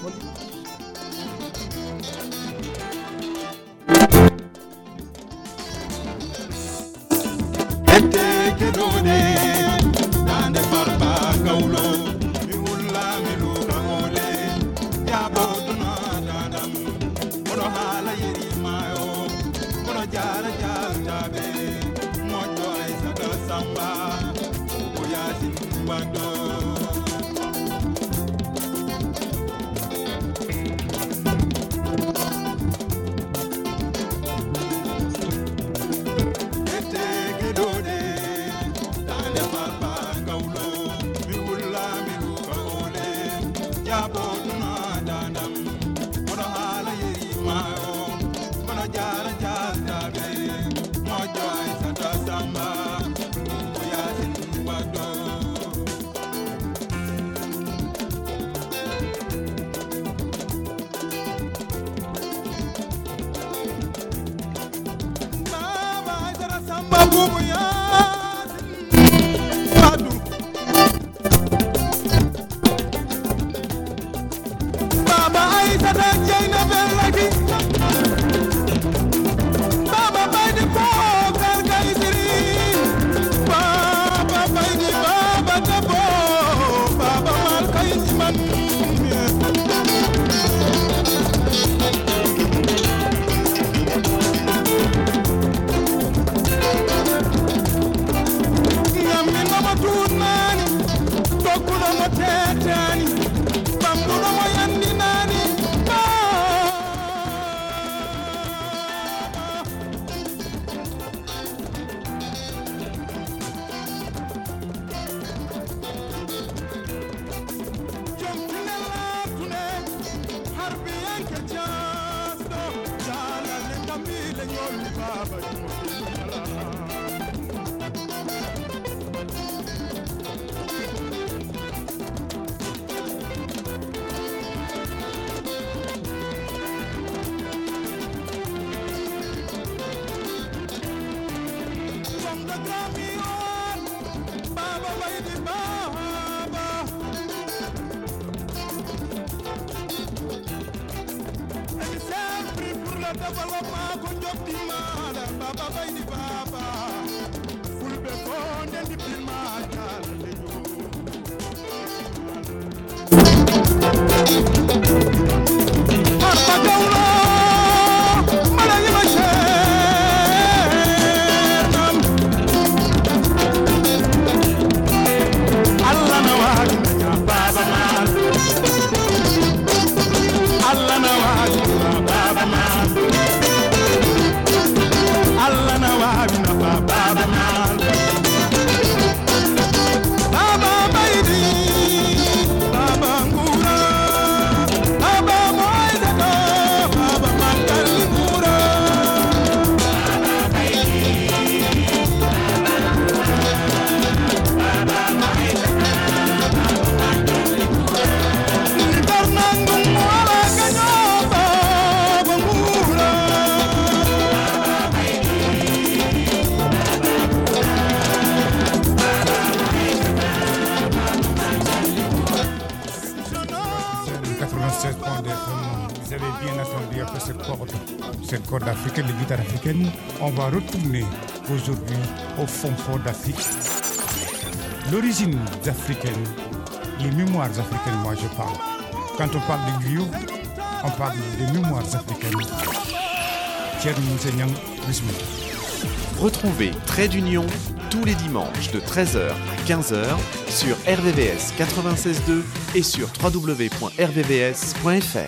Bon dimanche. Cette corde africaine, les guitares africaines, on va retourner aujourd'hui au fond fort d'Afrique. L'origine africaine, les mémoires africaines, moi je parle. Quand on parle de griot, on parle des mémoires africaines. Retrouvez Trait d'Union tous les dimanches de 13h à 15h sur RVVS 96.2 et sur www.rvvs.fr.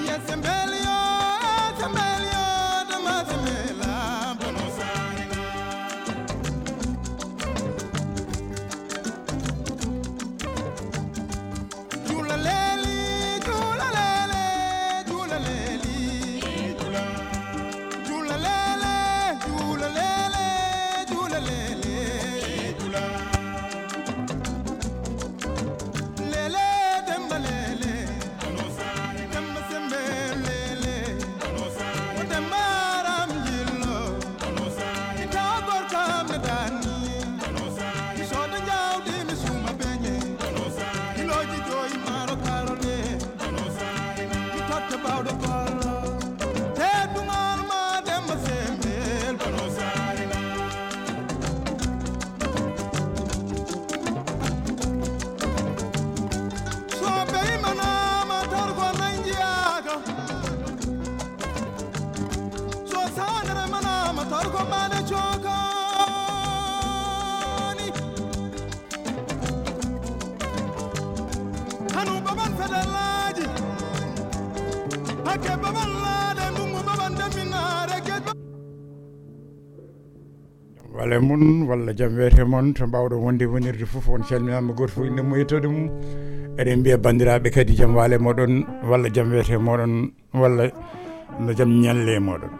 walla mun walla jam wiyete mon to mbawɗo wonde wonirde fof on calminama goto fof inde mum yettode mum eɗen mbiya bandiraɓe kadi jam waale moɗon walla jam wiyete moɗon walla no jam ñalle moɗon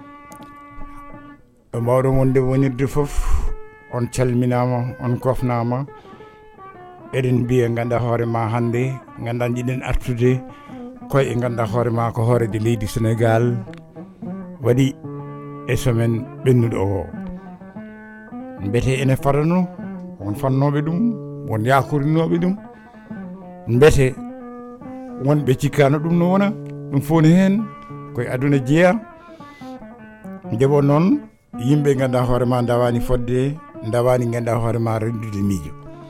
ɗo mbawɗo wonde wonirde fof on calminama on kofnama eɗen mbiya ganduɗa hoore ma hande ganduɗa jiɗen artude koye ganduɗa hoore ma ko hoorede leydi Sénégal waɗi e semaine ɓennuɗo o mbete ene farano won fannoɓe ɗum won yakorinoɓe ɗum mbete wonɓe cikkano ɗum no wona ɗum foni hen koye aduna jeeya ndeɓo noon yimɓe ganduɗa hoore ma dawani fodde dawani ganduɗa hoore ma rendude miijo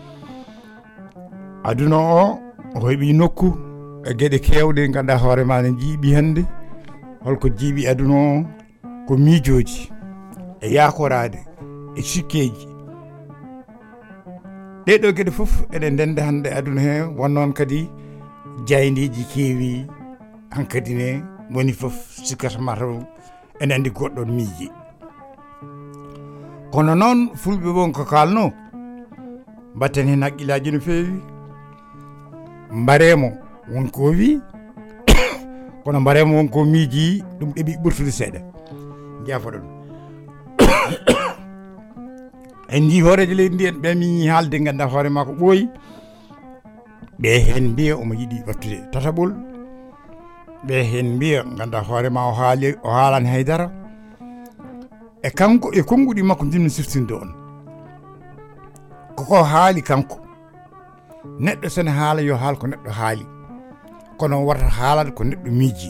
aduna o heeɓi nokku e gueɗe kewɗe ganduɗa hoore ma ne jiiɓi hande holko jiiɓi aduna o ko miijoji e yakorade e sikkeji ɗeɗo gueɗe foof eɗen ndenda hande aduna he wonnoon kadi jaydiji keewi hankkadi ne woni foof sikkata mataw ene andi goɗɗon miiji kono noon fulɓe won ko kalno mbatten hen haqqillaji no feewi mbaremo wonko wi kono mbaremo wonko miiji ɗum ɗeɓi ɓurtude seeɗa jafoɗon en jii hooreje leydi ndi en ɓe mi haalde ganduɗa hoore ma ko ɓooyi ɓe hen mbiya omo yiiɗi wattude tataɓol ɓe hen mbiya ganduɗa hoore ma o haalani haydara e kanko e konnguɗi makko jinmi siftinde on koko haali kanko neɗɗo sene haala yo haal ko neɗɗo haali kono warta haalade ko neɗɗo miiji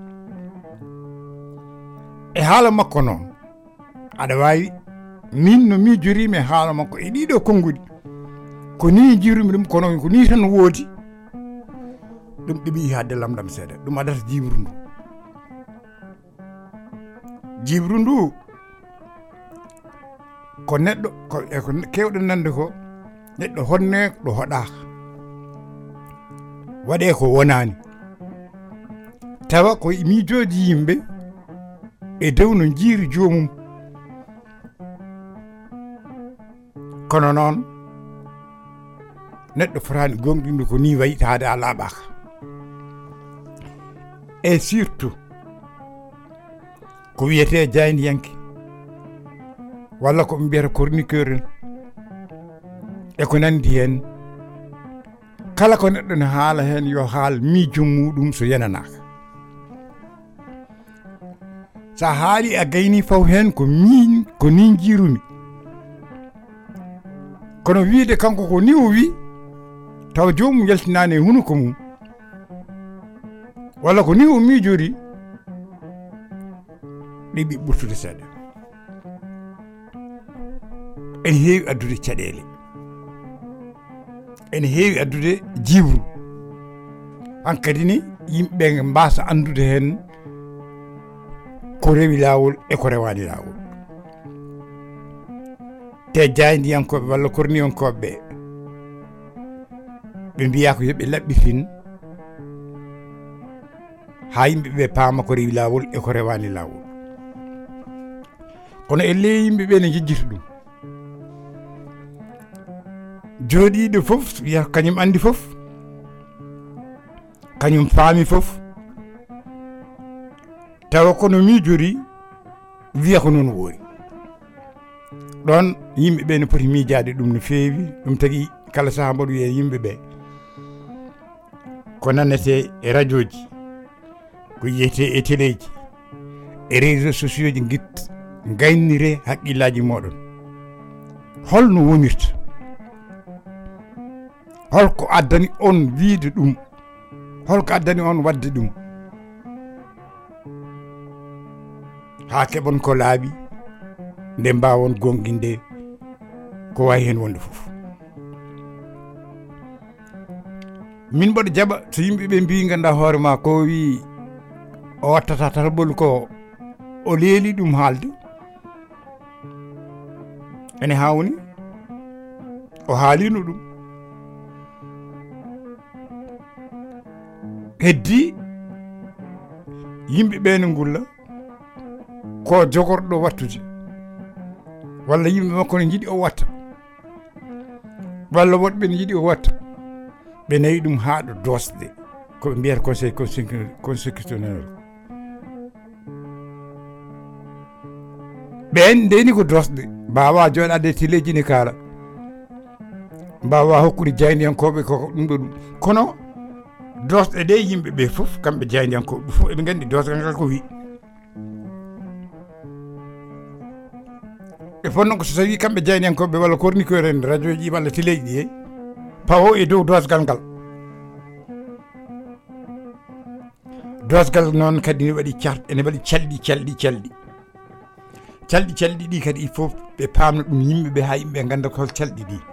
e haala makko noon aɗa wawi min no miijorimi e haala makko e ɗiɗo konnguɗi ko ni jirumi ɗum kono ko ni tan woodi ɗum ɗeɓi hadde lamɗam seeɗa ɗum adata jibru ndu ko neɗɗo ko kewɗen nande ko neɗɗo honne ɗo hoɗaka waɗe ko wonani tawa ko miijoji yimɓe e dow no jiiri jomum kono noon neɗɗo fotani gonɗinde ko ni wayi taade a laaɓaka e surtout ko wiyete jaydiyanke walla ko ɓe mbiyata chroniqueur en e ko nandi hen kala ko neɗɗo ne haala hen yo haal miijo muɗum so yananaka sa haali a gayni faw hen ko ni jirumi kono wiide kanko ko ni o wi taw jomum yaltinani e hunuko mum walla ko ni o miijori ɗiɓi ɓurtude seeɗa ene heewi addude caɗele ene heewi addude jibru hankkadi ni yimɓeɓe mbasa andude hen ko rewi lawol e ko rewani lawol te jaydiyankoɓe walla korniyonkoɓe ɓe mbiya ko yoɓe laɓɓitin ha yimɓe ɓe paama ko rewi lawol e ko rewani lawol kono elle yimɓe ɓe ne jejjita ɗum jooɗiɗo fof wiya kañum andi fof kañum faami fof tawa kono miijori wiya ko noon woori ɗon yimɓe ɓe ne poti miijade ɗum no feewi ɗum tagui kala saaha mboɗo wiye yimɓe ɓe ko nanete e radio ji ko yiyete e téléji e réseaux sociaux ji gaynire haqqillaji moɗon holno wonirta holko addani on wiide ɗum holko addani on wadde ɗum ha keɓon ko laaɓi nde mbawon gonɗinde ko wawi hen wonde foof min mboɗo jaɓa so yimɓeɓe mbi ganduɗa hoore ma ko wi o wattata talɓol ko o leeli ɗum haalde ene hawni o haalino ɗum heddi yimɓeɓe ne ngulla ko jogorɗo wattude walla yimɓe makko ne jiiɗi o watta walla woɗɓe ne jiiɗi o watta ɓe nayi ɗum haaɗo dosde ko ɓe mbiyata conseil constitutionnel ɓen ndeni ko dosde mbawa joɗade téléji ne kaala mbawa hokkude jaydiyankoɓe koko ɗum ɗo ɗum kono dosɗe ɗe yimɓeɓe foof kamɓe jaydiyankoɓe fof eɓe gandi dosgal ngal ko wi e fonno ko so tawi kamɓe jaydiyankoɓe walla kornikoɓe en radio ji walla téléji ɗi pawo e dow dosgal ngal dosgal noon kadi ne waɗi ene waɗi calɗi ɗi kadi il faut ɓe pamna ɗum yimɓeɓe ha yimɓeɓe ganda ko calɗi ɗi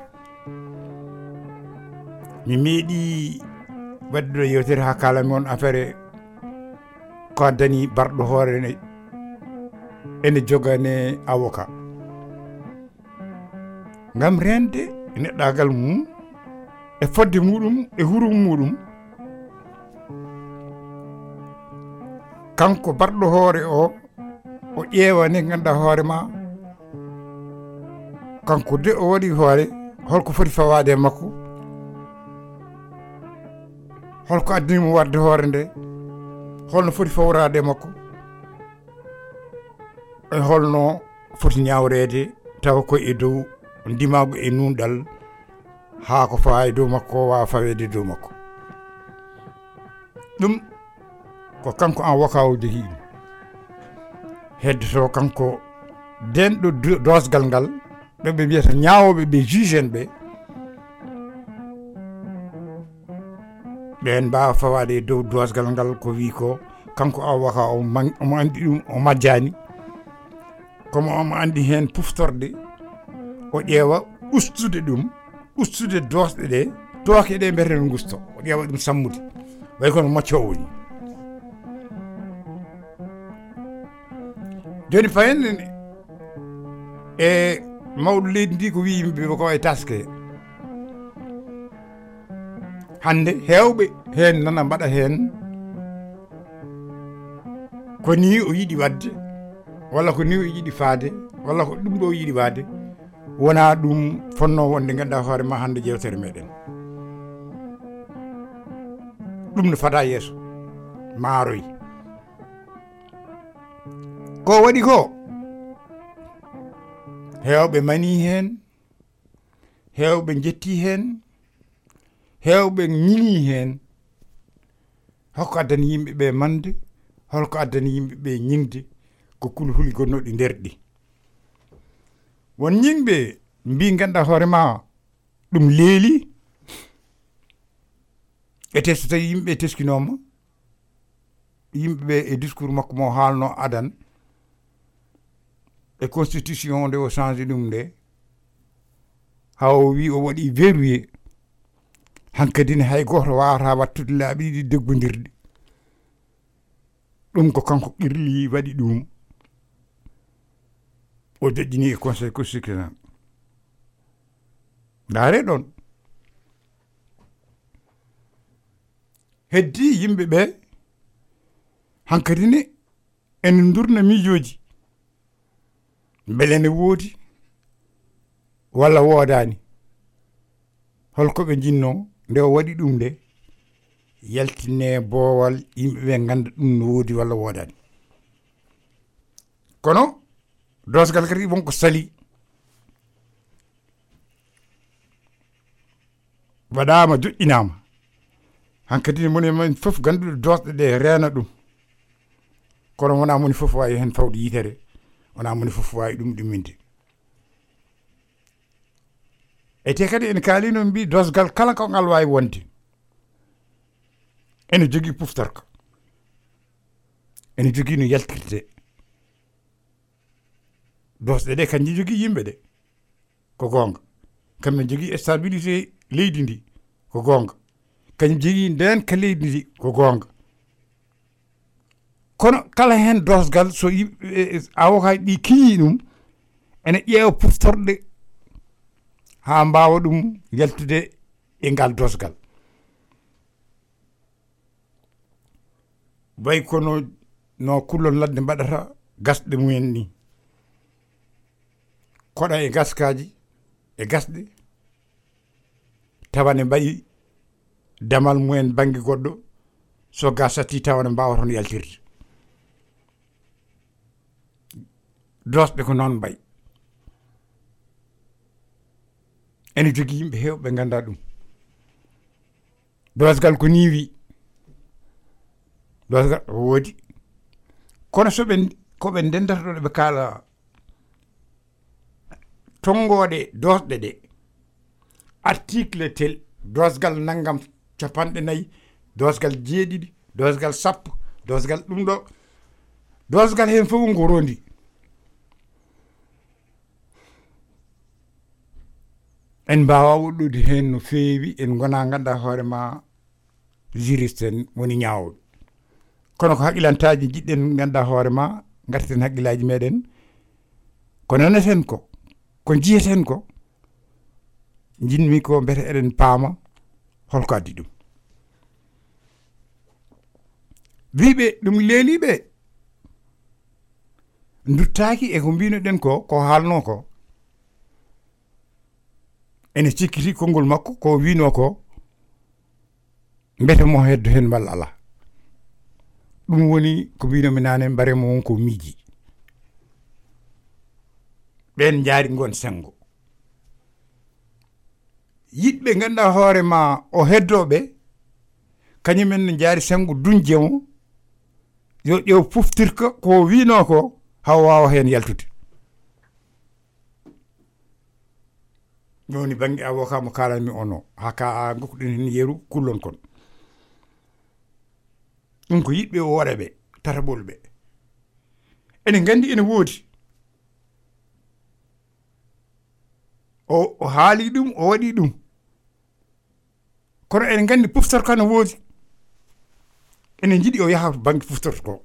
mi meeɗi wadde ɗo yewtere ha kalami on affaire ko addani barɗo hoore ene jogane avocat ngam rende neɗɗagal mum e fodde muɗum e hurum muɗum kanko barɗo hoore o ƴeewa ne ganduɗa hoore ma kanko de o waɗi hoore holko foti fawade e makko holko addinimo wadde hoore nde holno foti fawrade e makko e holno foti ñawrede tawa ko e dow ndimago e nunɗal ha ko fawa e dow makko wawa fawede dow makko ɗum ko kanko en waka o jogui ɗum heddoto kanko denɗo dosgal ngal ɓeɓe mbiyata ñawoɓe ɓe juge en ɓe ɓen mbawa fawade e dow dosgal ngal ko wi ko kanko en waka omo andi ɗum o majjani komo omo andi hen puftorde o ƴeewa ustude dosɗe ɗe tooke ɗe mbiyete no gusto o ƴeewa ɗum sammude way kono moccowo ni joni fayen e mawɗo leydi ndi ko wi yimɓe ko way taske hande hewɓe hen nana mbaɗa hen ko ni o yiɗi wadde walla ko ni o yiɗi faade walla ko ɗum ɗo o yiɗi wadde wona ɗum fonno wonde ganduɗa hoore ma hande jewtere meɗen ɗum no fada yeeso maaroyi ko waɗi ko hewɓe mani hen hewɓe jetti hen hewɓe ñini hen holko addani yimɓeɓe mande holko addani yimɓeɓe ñingde ko kulhuli gonnoɗi nder ɗi won ñingɓe mbi ganduɗa hoore ma ɗum leeli e so tawi yimɓeɓe teskinoma yimɓeɓe e discours makko mo haalno adan e constitution nde o changé ɗum nde ha o wi o waɗi verrouillé hankkadine hay goto wawata wattude laaɓi ɗiɗi deggodirɗi ɗum ko kanko qirli waɗi ɗum o joƴƴini e conseil constitutionnel ndaare ɗon heddi yimɓe ɓe hankadi ne en durna miijoji beele ne woodi walla woodani holko ɓe jinno nde o waɗi ɗum nde yaltinne boowal yimɓe ɓe ganda ɗum no woodi walla woodani kono dosgal kadi wonko sali waɗama joƴƴinama hankkadi moni men fof ganduɗo dosɗe ɗe reena ɗum kono wona moni fof wawi hen fawde yitere wona moni fof wawi ɗum ɗumminde e te kadi ene kaalino mbi dosgal kala ko ngal wawi wonde ene jogui puftorka ene jogui no yaltirte dosɗe ɗe kanƴi jogui yimɓe ɗe ko gonga kamɓe jogui stabilité leydi ndi ko gonga kañum jogui nden ka leydi ndi ko gonga kono kala hen dosgal so avocat ɗi kiñi ɗum ene ƴeewa puftorɗe ha mbawa ɗum yaltude e ngal dosgal way kono no kullon ladde mbaɗata gasɗe mumen ni koɗa e gaskaji e gasɗe tawane mbayi damal mumen banggue goɗɗo so gasati tawane mbawa toon yaltirde dosɓe ko noon mbayi ene jogui yimɓe hewɓe ganda ɗum dosgal ko ni wi dosgal woodi kono koɓe ndendata ɗo ɓe kaala tongoɗe dosɗe ɗe article tel dosgal naggam 50 dosgal 7 dosgal 10 dosgal ɗum ɗo dosgal hen fof ngo rondi en mbawa woɗɗude hen no feewi en gona ganduɗa hoorema juriste en woni ñawoɓe kono ko haqqilantaji jiɗɗen ganduɗa hoorema garten haqqillaji meɗen ko naneten ko jiyeten ko jinmi ko mbete eɗen paama holko addi ɗum wiɓe ɗum leeliɓe duttaki e ko mbinoɗen ko haalno ko ene cikkiti konngol makko ko wino ko mbete mo heddo hen walla ala ɗum woni ko mbinomi nane mbaremo wonko miiji ɓen jaari gon sengo yiɗɓe ganduɗa hoore ma o heddoɓe kañumen ne jaari sengo dunjemo yo ƴeew puftirka ko wino ko haw wawa hen yaltude joni banggue avocat mo kalanmi ono haka gokkuɗen hen yeeru kullon kon ɗum ko yiɗɓe o waɗa ɓe tataɓol ɓe ene gandi ene woodi o haali ɗum o waɗi ɗum kono ene gandi puftorka no woodi ene jiiɗi o yaha banggue puftorto ko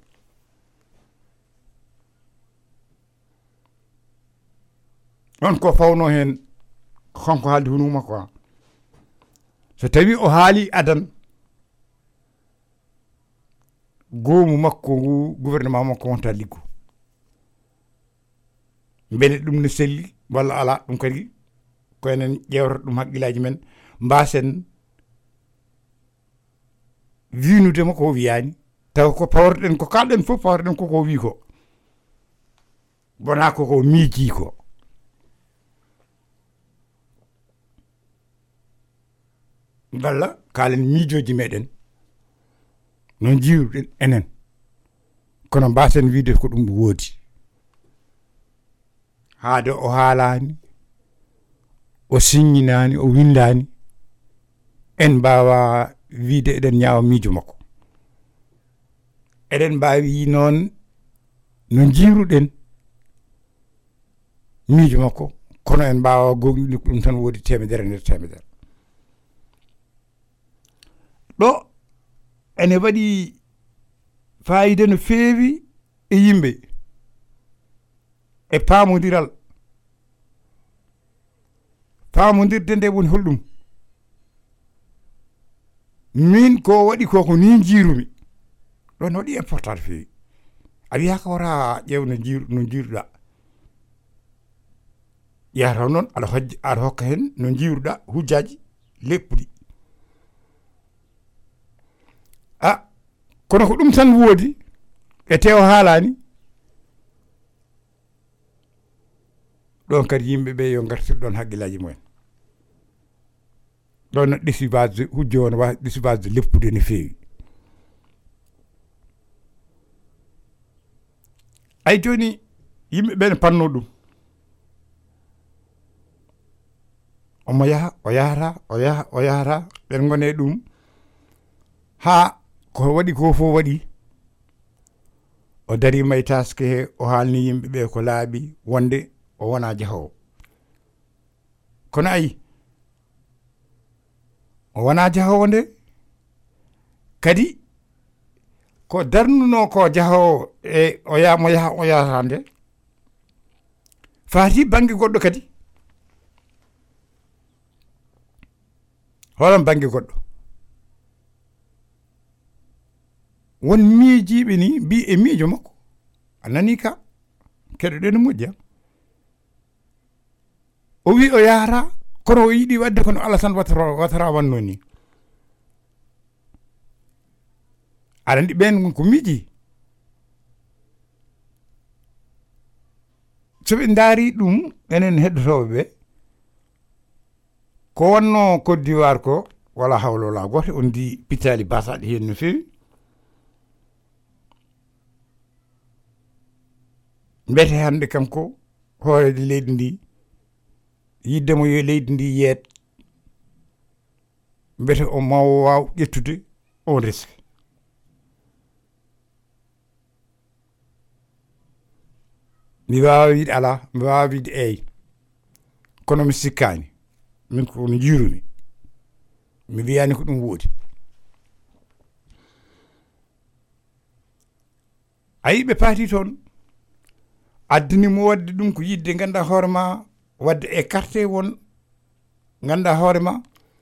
on ko fawno hen konko haaldi hono makko so tawi o haali adan goomu makko ngu gouvernement makko wonta liggo beele ɗum ne selli walla ala ɗum kadi ko enen ƴewrata ɗum haqqillaji men mbasen winudema ko wiyani taw ko pawrɗen ko kalɗen fof pawrɗen koko wi ko wona koko miiji ko walla kaalen miijoji meɗen no jiiruɗen enen kono mbasen wiide ko ɗum woodi haade o haalani o signinani o windani en mbawa wiide eɗen ñaawa miijo makko eɗen mbawi noon no jiiruɗen miijo makko kono en mbawa gognude ko ɗum tan woodi temedere nder temedere ɗo ene waɗi fayida no feewi e yimɓe e paamodiral paamodirde nde woni holɗum min ko waɗi ko ni jiirumi ɗon waɗi important feewi a wiyaka wara ƴeew no jiiruɗa yataw noon aɗa hokka hen no jiiruɗa hujjaji leppuɗi kono ko ɗum tan woodi e tew haalani ɗon kadi yimɓeɓe yo gartir ɗon haqqillaji mumen ɗon no décibage hujjo o no wawi décibage leppude no feewi ay joni yimɓeɓe ne panno ɗum omo yaha o yahata ɓen gone ɗum ha ko waɗi ko fof waɗi o darima e taske he o haalni yimɓeɓe ko laaɓi wonde o wona jahowo kono ayi o wona jahowo nde kadi ko darnuno ko jahowo e mo yaha o yahata nde faati banggue goɗɗo kadi holan banggue goɗɗo won miijiɓe ni mbi e miijo makko a nani ka keɗoɗe no moƴƴi o wi o yahata kono o yiiɗi wadde kono Allah tan watara wanno ni aɗa andi ɓen ko miiji soɓe daari ɗum enen heɗotoɓe ɓe ko wonno Côte d'Ivoire ko wala hawla wala goto on di pitali basaɗe hen no fewi mbete hande kanko hoorede leydi ndi yiddemo yo leydi ndi yeet mbete o mawo waw ƴettude on risque mi wawa wiide ala mi wawa wiide eyi kono mi sikkani min ko no jiirumi mi wiyani ko ɗum woodi ayi ɓe paati toon addinimo wadde ɗum ko yidde ganda hoorema wadde écarté won ganda hoorema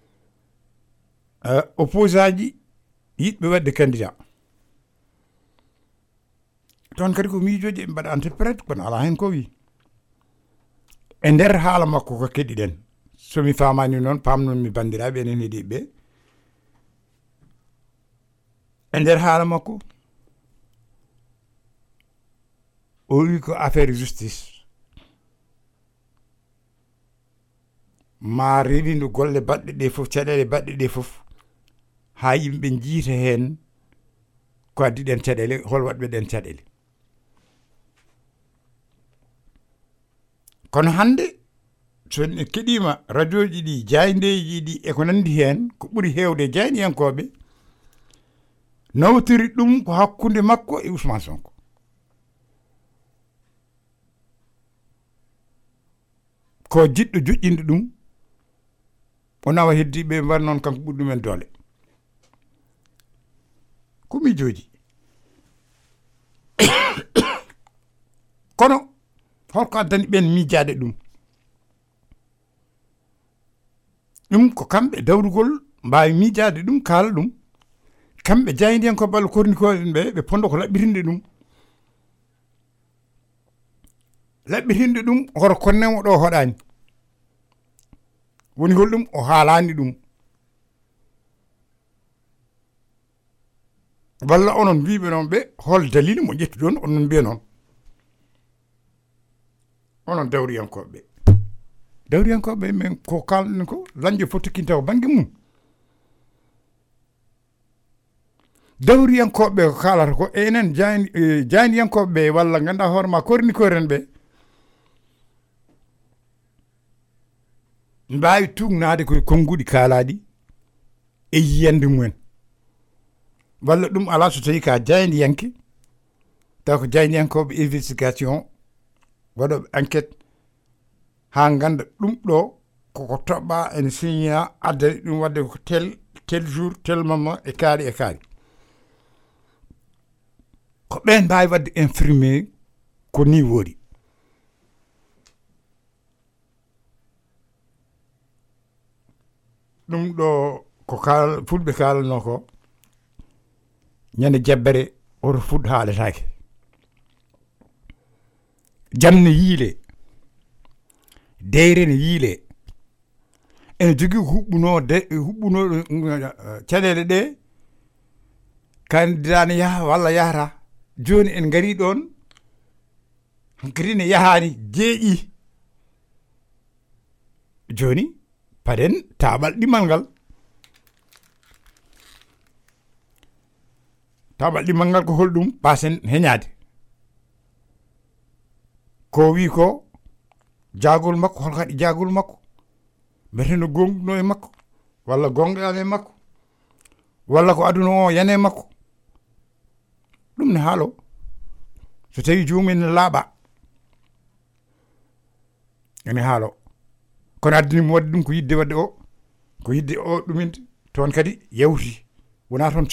opposaji yiɗɓe wadde candidat toon kadi ko miijoji ɓe mbaɗa interprète kono ala hen ko wi e nder haala makko ko keɗiɗen somi famani noon pamnon mi bandiraɓe enen heeɗiɓe e nder haala makko o wi ko affaire justice ma rewindu golle baɗɗe ɗe fof caɗele baɗɗe ɗe fof ha yimɓe jiita hen ko addi ɗen caɗele hol waɗɓe ɗen caɗele kono hande so en keɗima radio ji ɗi jayndeji ɗi e ko nandi hen ko ɓuuri hewde jayniyankoɓe nawtiri ɗum ko hakkude makko e Ousmane Sonko ko jiɗɗo joƴƴinde ɗum o nawa heddiɓe mbar noon kanko ɓuri ɗumen doole ko miijoji kono holko addani ɓen miijade ɗum ɗum ko kamɓe dawrugol mbawi miijade ɗum kaala ɗum kamɓe jaydihen ko ballo kornikoɗen ɓe pondo ko laɓɓitinde ɗum laɓɓitinde ɗum hoto konnemo ɗo hoɗani woni hol ɗum o haalani ɗum walla onon mbiɓe noon ɓe hol dalil mo ƴettu ɗon onon mbiya noon onon dawriyankoɓe men ko kalɗen ko dañƴo fo tokkinta ko banggue mum dawriyankoɓe ko kalata ko enen jayniyankoɓe walla ganduɗa hoorema kornikoren ɓe mbawi tugnade koye konnguɗi kaalaɗi e yiyande mumen walla ɗum ala so tawi ka jayniyanke taw ko jayniyankoɓe investigation waɗoɓe enquête ha ganda ɗum ɗo koko toɓɓa ene signa addani ɗum wadde ko tel jour tel moment e kaari ko ɓen mbawi wadde infirmé ko ni woori ɗum ɗo ko fulɓe kalanno ko ñande jabbere oto fuɗ haaletaake jamne yiile deyre ne yiile ene jogii huɓɓuno caɗeele ɗe candidat ne yaha walla yahata joni en ngari ɗon hankkadi ne yahani jeeƴi joni paden taɓal ɗimal ngal ko holɗum pasen heñade ko wi ko jagol makko hol kadi jagol makko mbeteno gonɗuno e makko walla gonɗano e makko walla ko aduna o yane makko ɗum ne haalo so tawi jomum ne laaɓa ene haalo kono addinimo wadde ɗum ko yidde wadde o ko yidde o ɗuminde toon kadi yawti wona toon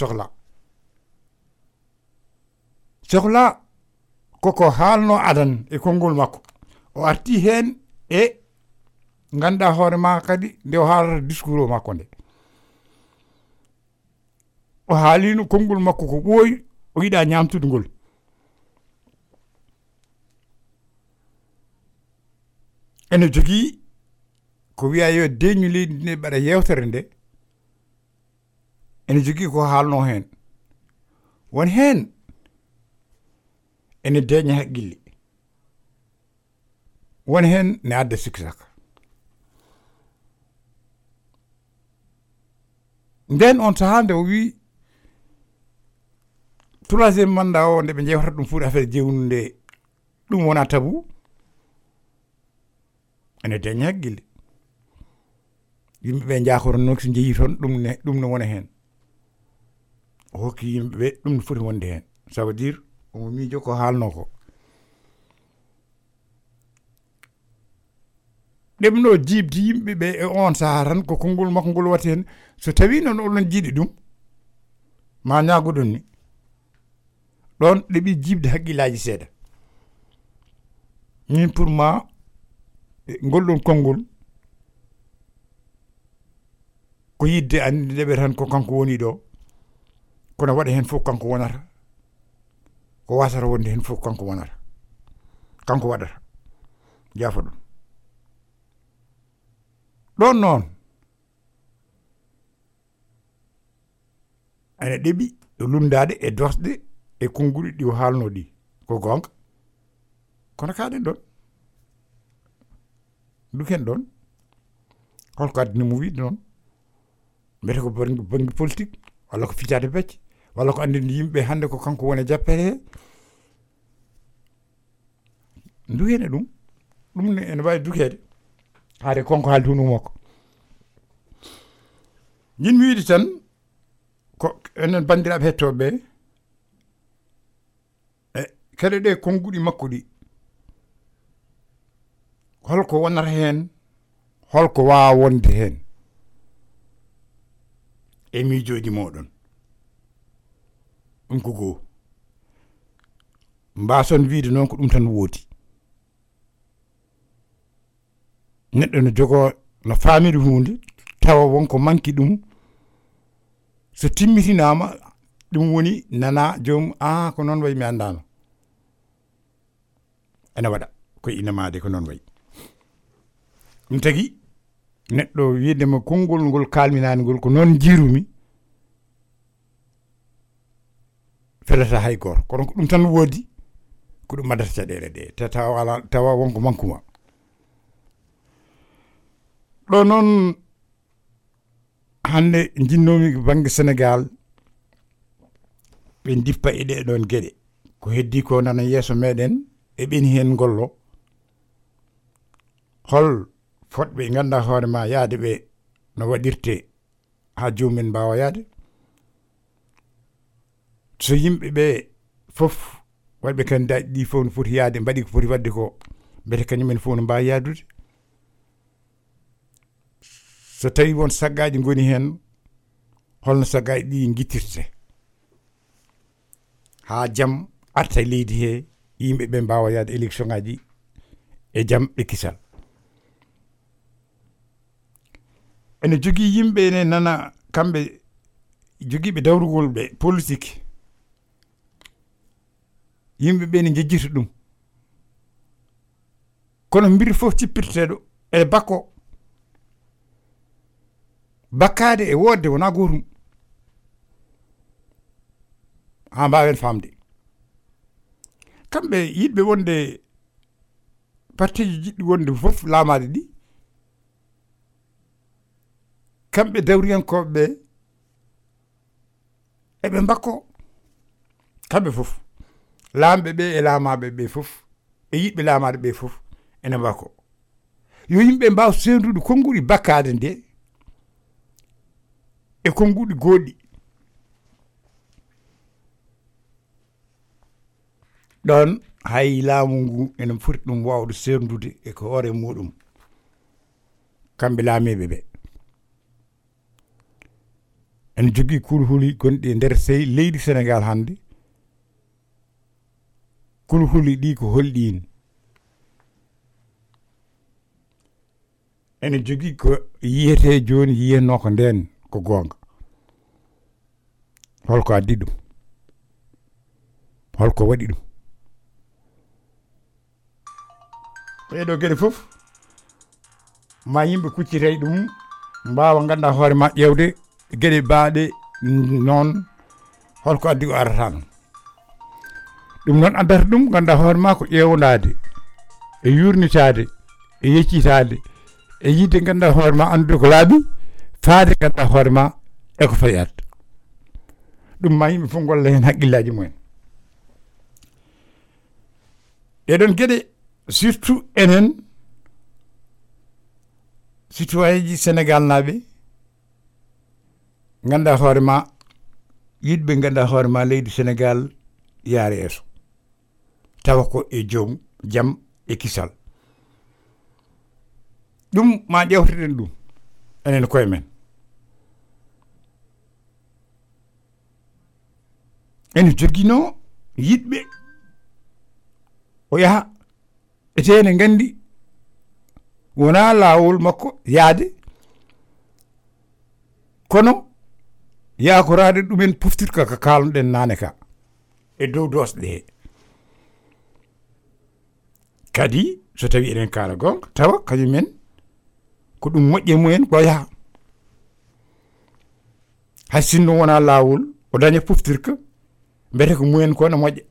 sohla koko haalno adan e konngol makko o arti hen e ganduɗa hoore ma kadi nde o haalata discours o makko nde o haalino konngol makko ko ɓooyi o yiɗa ñamtude ngol ene jogii ko wiya yo deñu leydi ndi mbaɗa yewtere nde ene jogii ko haalno hen won hen ene deña haqqille won hen ne adda sikki saka nden on sahaa nde o wi troisiéme mandat o nde ɓe jewtata ɗum fuuɗi affaire jewnu nde ɗum wona tabu ene deña haqqille yimɓeɓe jakoro noon so jeeyi toon ɗum ne wona hen o hokki yimɓeɓe ɗum ne foti wonde hen ça veut dire omo miijo ko haalno ko ɗemno jibdi yimɓeɓe e on saha tan ko konngol makko ngol watte hen so tawi noon oɗon jiiɗi ɗum ma ñagoɗon ni ɗon ɗeɓi jibde haqqillaji seeɗa min pour ma ngolɗon konngol ko yidde andi ndeɓe tan ko kanko woni ɗo kono waɗa hen fof kanko wonata ko wasata wonde hen fof kanko wonata kanko waɗata jaafa ɗon noon ene ɗeɓi ɗo lumdade e dosɗe e konnguli ɗi o haalno ɗi ko gonga kono kaɗen ɗon duken ɗon holko addinimo wiide noon mbete ko banggue politique walla ko fitade becce walla ko andinde yimɓe hande ko kanko woni jappere he dukene ɗum ne ene wawi dukede haade konko haaldi hono makko jinmi wiide tan ko enen bandiraɓe hettoɓe e kede ɗe konnguɗi makko ɗi holko wonata hen holko wawa wonde hen e miijoji moɗon ɗum ko goo mbason wiide noon ko ɗum tan woodi neɗɗo no jogo no famiri hunde tawa wonko manki ɗum so timmitinama ɗum woni nana joomum ko noon wayi mi andano ene waɗa koye inamade ko noon wayi ɗum tagui neɗɗo wiidema konngol ngol kalminani ngol ko noon jirumi felata hay goto kono ko ɗum tan woodi ko ɗum addata caɗele ɗe tawa wonko mankuma ɗo noon hande jinnomi banggue Sénégal ɓe dippa e ɗe ɗon gueɗe ko heddi ko nana yeeso meɗen e ɓeni hen gollo hol fotɓe ganduɗa hoore ma yaade ɓe no waɗirte ha jomumen mbawa yaade so yimɓeɓe foof waɗɓe candidat ɗi fof no foti yaade mbaɗi ko foti wadde ko mbete kañumen fof no mbawi yaadude so tawi won saggaji goni hen holno saggaji ɗi guittirte ha jaam arta e leydi he yimɓeɓe mbawa yaade élection ngaji e jaam e kisal ene jogui yimɓe ne nana kamɓe joguiɓe dawrugol ɓe politique yimɓe ɓe ne jejjita ɗum kono mbiri fof cippirteɗo e bakko bakkade e wodde wona gotum ha mbawen famde kamɓe yiɗɓe wonde partiji jiɗɗi wonde fof laamade ɗi kamɓe dawriyankoɓe ɓe eɓe bakko kamɓe fof laamɓe ɓe e laamaɓe ɓe fof e yiɗɓe laamade ɓe fof ene bakko yo yimɓe mbaw sendude konnguɗi bakkade nde e konnguɗi goɗɗi ɗon hay laamu ngu ene foti ɗum wawde sendude e ko hoore muɗum kamɓe laamiɓe ɓe ene jogui kulhuli gonɗi e nder sey leydi Sénégal hannde kulhuli ɗi ko holɗin ene jogui ko yiyete joni yiyenno ko nden ko gonga holko addi ɗum holko waɗi ɗum ɓeɗo gueɗe fof ma yimɓe kuccitay ɗum mbawa ganda hoore ma ƴewde gueɗe baaɗe noon holko addi ko arata noon ɗum noon addata ɗum ganda hoore ma ko ƴewnade e yurnitade e yeccitade e yidde ganda hoore ma andude ko laaɓi faade ganda hoore ma e ko fayat ɗum ma yimɓe fof golla hen haqqillaji mumen ɗeɗon gueɗe surtout enen citoyen ji Sénégal naɓe ganda hoore ma yiɗɓe ganda hoore ma leydi Sénégal yaare yeeso tawa ko e joom jaam e kisal ɗum ma ƴewteten ɗum enen koye men ene joguino yiɗɓe o yaha etene gandi wona lawol makko yaade kono yakorade ɗumen poftirka ka kalnoɗen nane ka e dow dosɗe he kadi so tawi eɗen kaala gonga tawa kañumen ko ɗum moƴƴe mumen ko yaha hay sinno wona lawol o daña poftirka mbete ko mumen ko ne moƴƴa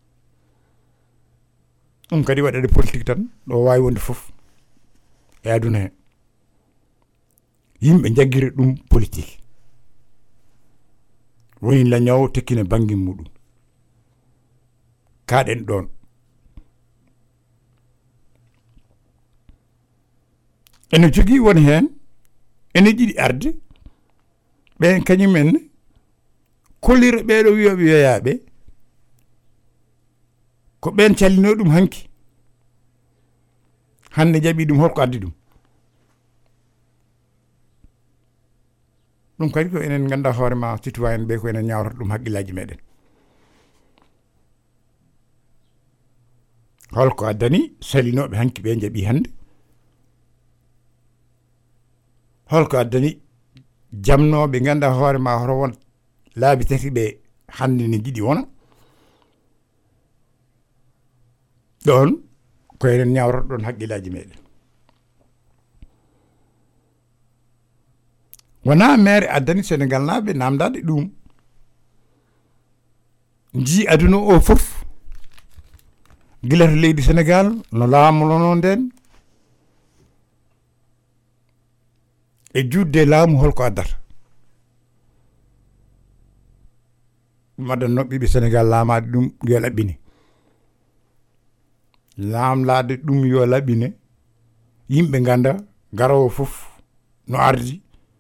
ɗum kadi waɗade politique tan ɗo wawi wonde fof e aduna he yimɓe jaggira ɗum politique woni lañawo tekkine banggue muɗum kaɗen ɗon ene jogui won hen ene ɗiɗi arde ɓen kañumen kollira ɓeɗo wiyoɓe wiyayaɓe ko ɓen callino ɗum hanki hande jaɓi ɗum holko addi ɗum ɗum kadi ko enen ganda hoore ma citoyen ɓe ko enen ñawrata ɗum haqqillaji meɗen holko addani salinoɓe hanki ɓe jaɓi hande holko addani jamnoɓe ganda hoore ma hoto won laabi tati ɓe hande ne jiɗi wona ɗon ko enen ñawrata ɗon haqqillaji meɗen wona maire addani Sénégal naɓe namdade ɗum ji aduna o fof guilata leydi Sénégal no laamulono nden e judde laamu holko addata ɗum addanno ɓiɓe Sénégal laamade ɗum yo laɓɓine lamlade ɗum yo laɓine yimɓe ganda garowo fof no ardi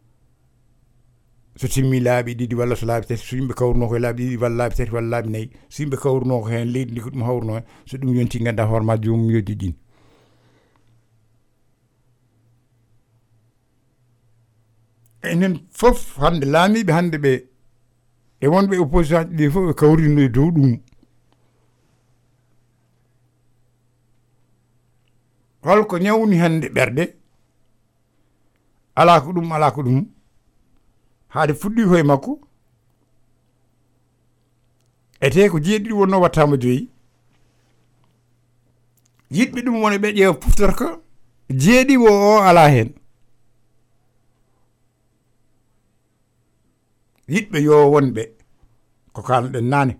so timmi laaɓi ɗiɗi walla so laaɓi tati so yimɓe kawruno koye laaɓi ɗiɗi walla laaɓi tati walla laaɓi nayyi so yimɓe kawruno ko hen leydi ndi ko ɗum hawruno hen so ɗum yonti ganda hoore ma jomum yo jiɗɗin enen fof hande laamiɓe hande ɓe e wonɓe opposition ɗi fof ɓe kawrino e dow ɗum holko ñawni hande ɓerɗe ala ko ɗum haade fuɗɗi koye makko ete ko jeeɗiɗi wonno wattama joyi yiɗɓe ɗum woni ɓe ƴeewa puftorka jeeɗiwo o ala hen yiɗɓe yo wonɓe ko kalɗen nane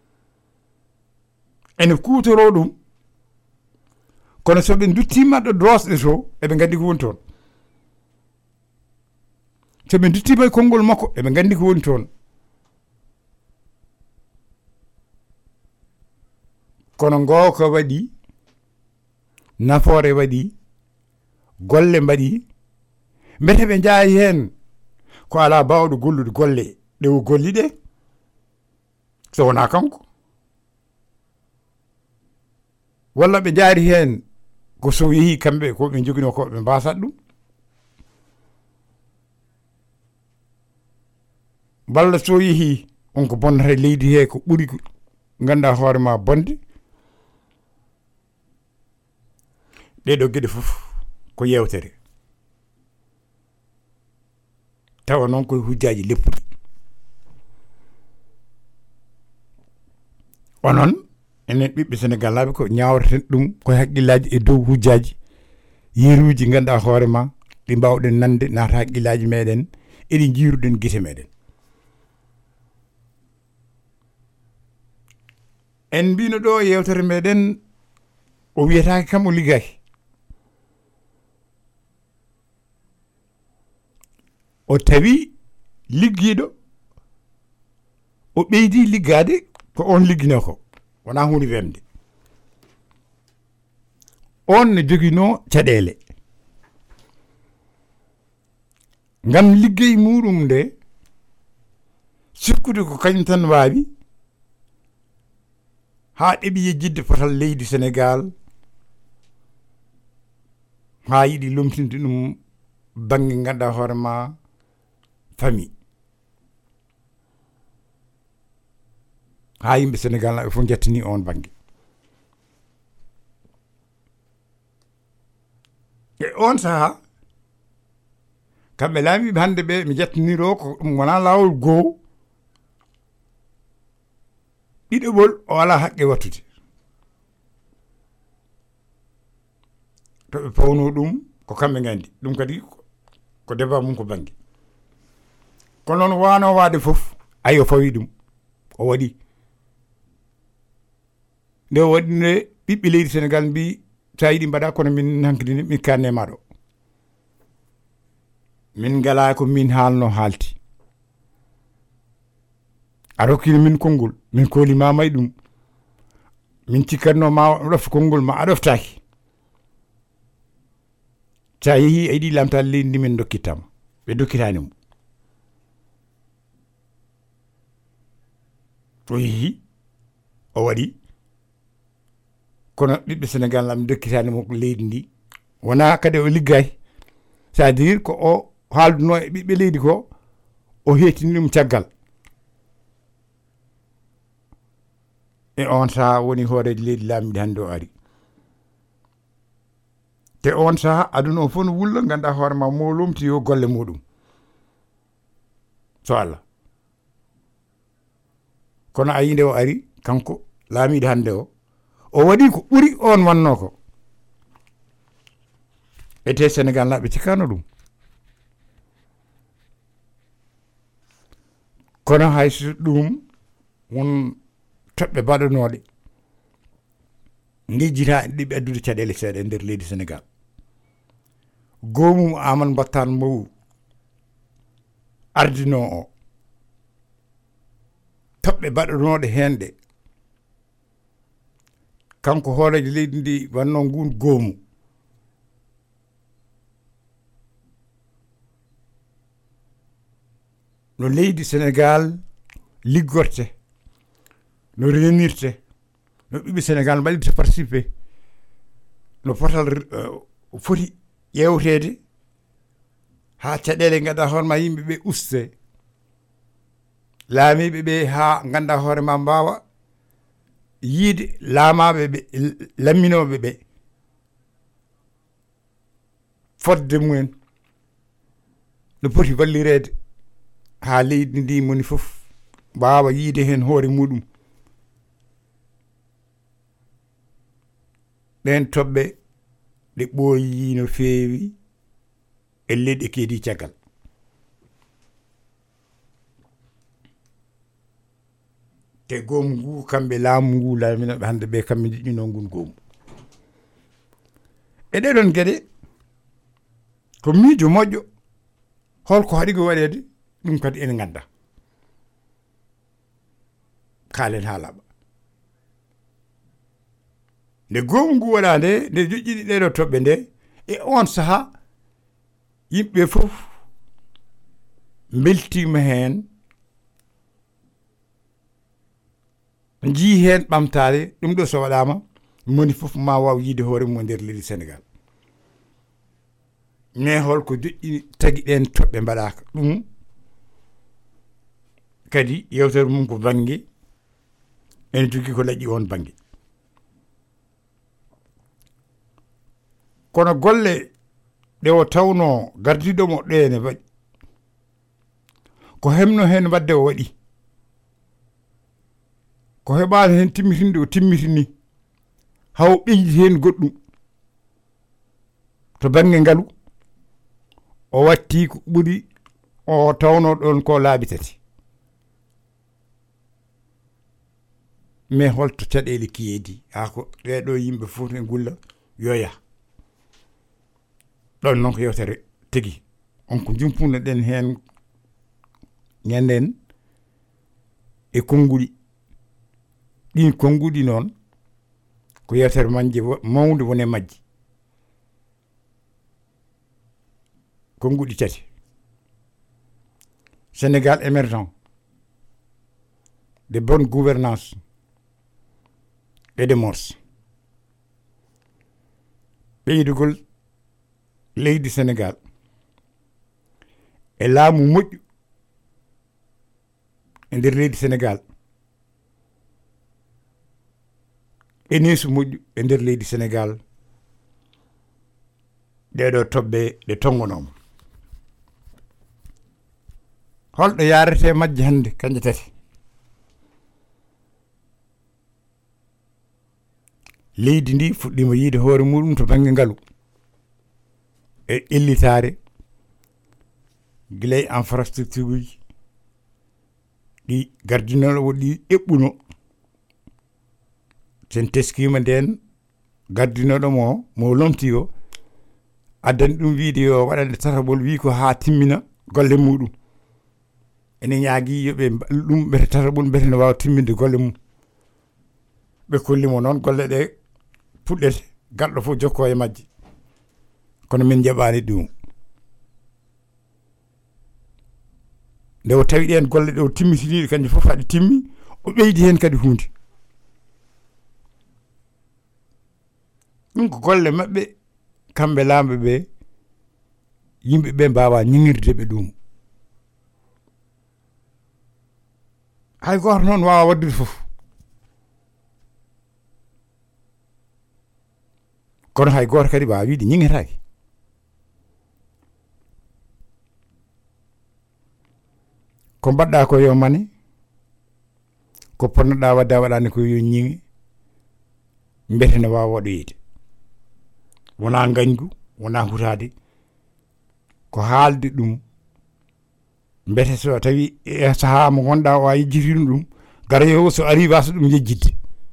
ene kutoro ɗum kono soɓe duttima ɗo dosɗe to eɓe gandi ko woni toon soɓe duttima e konngol makko eɓe gandi ko woni toon kono ngo ko waɗi nafoore waɗi golle mbaɗi mbete ɓe jaayi hen ko ala bawɗo gollude golle ɗe o golli ɗe so wona kanko walla ɓe jaari hen ko so yeehi kamɓe ko ɓe jogino ko ɓe mbasat ɗum walla so yeehi on ko bonnata leydi he ko ɓuri ganda hoore ma bonde ɗeɗo gueɗe fof ko yewtere tawa noon koye hujjaji leppuɗi onon enen ɓiɓɓe Sénégal laaɓe ko ñawreten ɗum koye haqqillaji e dow hujjaji yeeruji ganduɗa hoore ma ɗi mbawɗen nande naata haqqillaji meɗen eɗi jiiruɗen guite meɗen en mbino ɗo yewtere meɗen o wiyetake kam o liggaki o tawi liggiɗo o ɓeydi liggade ko on liggino ko wona hunde wemde on ne jogino caɗele ngam liggey muɗum nde sikkude ko kañum tan wawi ha ɗeɓi yejjidde potal leydi Sénégal ha yiɗi lomtinde ɗum banggue ganduɗa hoore ma famille ha yimɓe Sénégal naɓe fof jettani on banggue e on saaha kamɓe laamiɓe hande ɓe mi jettaniro ko ɗum wona lawol goo ɗiɗoɓol o ala haqqe wattude to ɓe pawno ɗum ko kamɓe gandi ɗum kadi ko débat mum ko banggue kono noon wano wade foof ayo fawi ɗum o waɗi nde o waɗi nde ɓiɓɓe leydi Sénégal mbi sa yiɗi mbaɗa kono min hankidini min kanne maɗo min ngala ko min haalno haalti a rokkino min konngol min kolima may ɗum min cikkatno ma ɗofta konngol ma a ɗoftaki sa yeehi a yiɗi lamtal leydi ndi min dokkittama ɓe dokkitani mo o yeehi o waɗi kono ɓiɓɓe Sénégal lam dokkitani mo leydi ndi wona kadi o liggay c'est à dire ko o haalduno e ɓiɓɓe leydi ko o hetini ɗum caggal e on saha woni hooreji leydi laamiɗi hannde o ari te on saha aduna o fof no wulla ganduɗa hoore ma mo lomti yo golle muɗum so Allah kono ayi nde o ari kanko laamiɗo hannde o waɗi ko ɓuri on wanno ko ete Sénégal naɓe cikkano ɗum kono hayso ɗum won toɓɓe baɗanoɗe jejjita ɗiɓe addude caɗele seeɗa e nder leydi Sénégal gomum Amadou Battan Mbow ardino o toɓɓe baɗanoɗe hen ɗe kanko hoorejo leydi ndi wanno ngun goomu no leydi Sénégal liggorte no renirte no ɓiɓɓe Sénégal mbaɗirte participé no potal foti ƴewtede ha caɗele ganduɗa hoore ma yimɓeɓe uste laamiɓe ɓe ha ganduɗa hoore ma mbawa yiide laamaɓe ɓe lamminoɓe ɓe fodde mumen no poti wallirede ha leydi ndi moni foof mbawa yiide hen hoore muɗum ɗen toɓɓe ɗe ɓooyi no feewi e leyɗe keedi caggal te goomu ngu kamɓe laamu ngu laaminoɓe hannde ɓe kamɓe jiɗɗino ngun goomu e ɗeɗon geɗe ko miijo moƴƴo holko haɗi ko waɗede ɗum kadi ene ngannda kaalen haalaɓa nde goomu ngu waɗa nde nde joƴƴiɗi ɗeɗo toɓɓe nde e on saha yimɓe fof beltima heen jii heen ɓamtare ɗum ɗo so waɗama moni fof ma waw yiide hoore mum nder leydi Sénégal mais holko joƴƴini tagui ɗen toɓɓe mbaɗaka ɗum kadi yewtere mum ko banggue ene jogui ko laaƴi on banggue kono golle ɗe o tawno gardiɗomo ɗene waɗi ko hemno hen wadde o waɗi ko heɓano hen timmitinde o timmitini haw ɓeydi hen goɗɗum to banggue ngaalu o watti ko ɓuuri o tawno ɗon ko laabi tati mais holto caɗele kiyeedi ha ko ɗeɗo yimɓe fof ne gulla yoya ɗon noon ko yewtere tigui on ko jumpuno ɗen hen ñanden e konnguli ɗin konnguli noon ko yewtere manje mawde wone majji konnguli tati Sénégal émergent de bonne gouvernance et de mœurs ɓeydugol leydi Sénégal e laamu moƴƴu e nder leydi Sénégal e neesu moƴƴu e nder leydi Sénégal ɗeɗo toɓɓe ɗe tongonoma holɗo yarete majje hannde kanje tati leydi ndi fuɗɗima yiide hoore muɗum to banggue ngaalu e ƴellitare guilay infrastructure uji ɗi gardinoɗo ɗi eɓɓuno sen teskima nden gardinoɗo mo lomti o addani ɗum wiide yo waɗande tataɓol wi ko ha timmina golle muɗum ene ñaagui yoɓe ɗum ɓete tataɓol ɓete ne wawa timminde golle mum ɓe kollimo noon golle ɗe puɗɗete galɗo fof jokko e majje kono min jaɓani ɗum nde o tawi ɗen golle ɗe o timmitiniɗe kanƴe fof haɗe timmi o ɓeydi hen kadi hunde ɗum ko golle maɓɓe kamɓe lamɓe ɓe yimɓeɓe mbawa ñiŋirde ɓe ɗum hay goto noon wawa waddude fof kono hay goto kadi wawa wiide ñiŋetake ko mbaɗɗa ko yo mane ko ponnoɗa wadde a waɗani ko yo ñiŋe mbete ne wawa waɗoyede wona gañgu wona hutade ko haalde ɗum mbete so tawi e saaha mo gonɗa o a yejjitino ɗum garoyowo so ari wasa ɗum yejjidde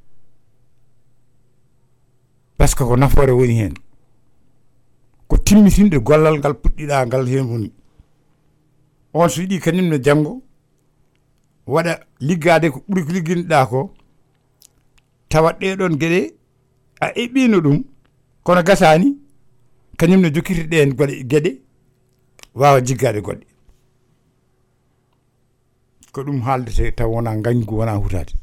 par ce que ko nafoore woni hen ko timmitinde gollal ngal puɗɗiɗa ngal hen woni on so yiiɗi kañumne janggo waɗa liggade ko ɓuuri ko ligguinoɗa ko tawat ɗeɗon gueɗe a eɓɓino ɗum kono gasani kañumne jokkiti ɗen gueɗe wawa jiggade goɗɗe ko ɗum haaldete taw wona gañgu wona hutade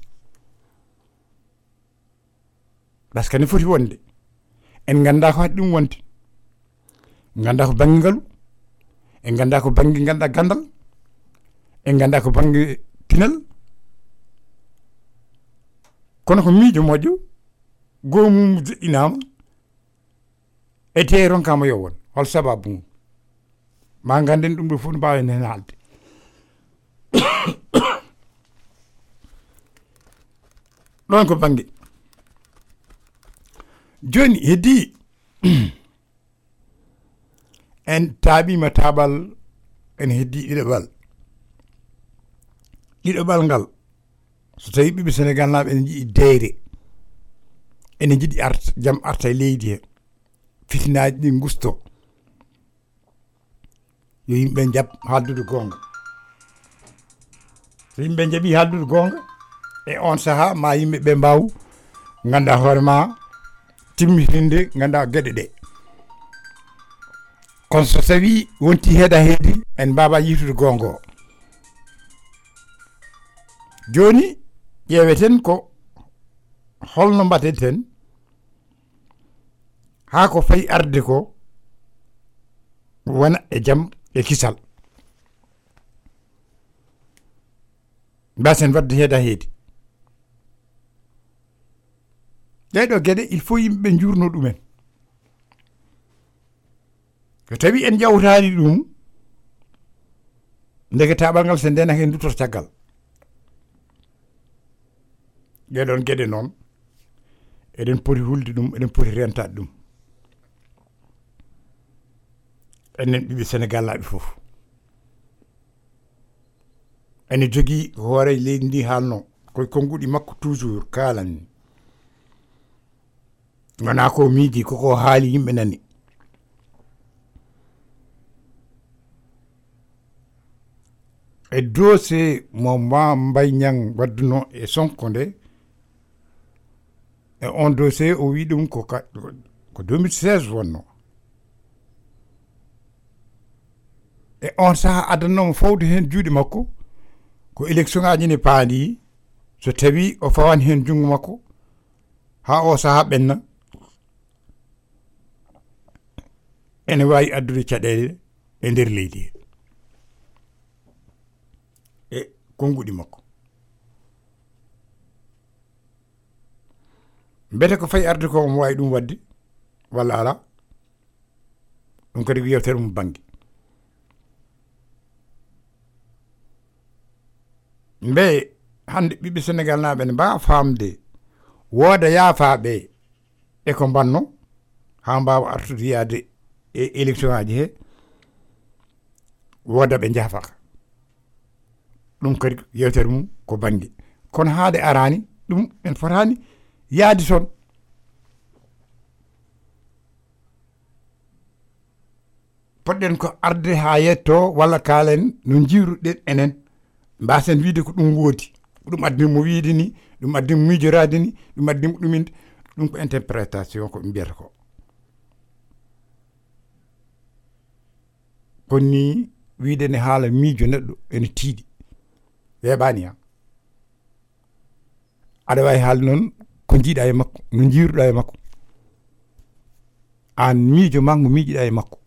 par ce que ne foti wonde en ganda ko haɗi ɗum wonde ganda ko banggue ngaalu en ganda ko banggue ganduɗa gandal en ganda ko banggue pinal kono ko miijo moƴƴo gomum joƴƴinama e te ronkama yowon hol sababu mum ma ganden ɗum ɗo fof no mbawen hen haalde ɗon ko banggue joni heddi en taaɓima taɓal en heddi ɗiɗoɓal ngal so tawi ɓiɓɓe Sénégal naɓe ene jiiɗi deyre ene jiiɗi jaam arta e leydi he fitinaji ɗi gusto yo yimɓe jaab haaldude gonga so yimɓe jaaɓi haaldude gonga e on saaha ma yimɓeɓe mbaw ganda hoore ma timmitinde ganda gueɗe ɗe kono so tawi wonti heeda heedi en mbaba yitude gonga o joni ƴeeweten ko holno mbaɗen ten haa ko fayi arde ko wona e jaam e kisal mbasen wadde heeda heedi ɗeɗo gueɗe il faut yimɓeɓe jurno ɗumen so tawi en jawtani ɗum ndege taɓal ngal so ndenake en duttoto caggal ɗeɗon gueɗe noon eɗen poti hulde ɗum eɗen poti rentade ɗum enen ɓiɓe Sénégal naaɓe fof ene jogui hoore leydi ndi haalno koye konnguɗi makko toujours kalanni wona ko miiji koko haali yimɓe nani e dossier mo Mbaye Niang wadduno e Sonko nde e on dossier o wi ɗum ko 2016 wonno e on saaha addanomo fawde hen juuɗe makko ko élection ngaji ne paandi so tawi o fawani hen jungo makko ha o saaha ɓenna ene wawi addude caɗele e nder leydi e konnguɗi makko mbete ko fayi arde ko omo wawi ɗum wadde walla ala ɗum kadi ko yewtere mum banggue mbe hande ɓiɓɓe Sénégal naɓe ne mbawa famde wooda yaafaɓe e ko mbanno ha mbawa artude yaade e élection aji he wooda ɓe jaafaka ɗum kadi yewtere mum ko banggue kono haade arani ɗum en fotani yaadi toon poɗɗen ko arde ha yetto walla kaalen no jiiruɗen enen mbasen wiide ko ɗum woodi ɗum addimo wiide ni ɗum addimo miijorade ni ɗum addimo ɗuminde ɗum ko interprétation ko ɓe mbiyata ko konni wiide ne haala miijo neɗɗo ene tiiɗi weeɓani ha aɗa wawi haalde noon ko jiiɗa e makko no jiiruɗa e makko an miijo ma ngo miijiɗa e makko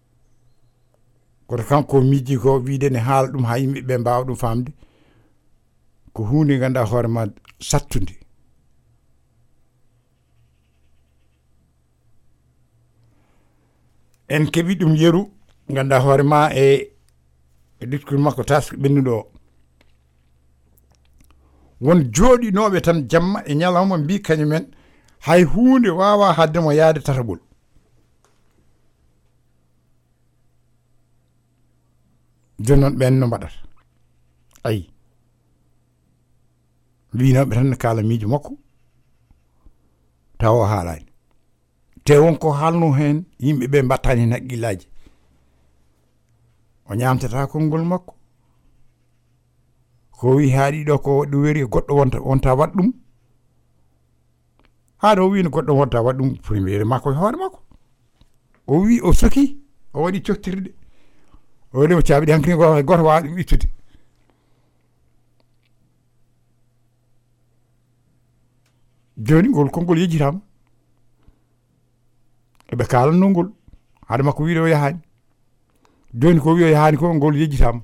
koto kanko miiji ko wiide ne haala ɗum ha yimɓeɓe mbawa ɗum famde ko hunde ganduɗa hoore ma sattude en keeɓi ɗum yeru ganduɗa hoore ma e discours makko taske ɓennuɗo o won jooɗinoɓe tan jamma e ñalawma mbi kañumen hay hunde wawa haddemo yaade tataɓol joni noon ɓen no mbaɗata ayi winoɓe tan ne kaala miijo makko taw o haalani te wonko haalno hen yimɓeɓe mbattani hen haqqillaji o ñamtata konngol makko ko wi haaɗi ɗo ko waɗi weri goɗɗo wonta waɗ ɗum haɗa o wi no goɗɗo wonta waɗ ɗum premier makko e hoore makko o wi o soki o waɗi cottirɗe o waɗimo caabi ɗi hankkadi goto wawa ɗum ittude joni ngol konngol yejjitama eɓe kalanno ngol haade makko wiide o yahani joni ko wi o yahani ko ngol yejjitama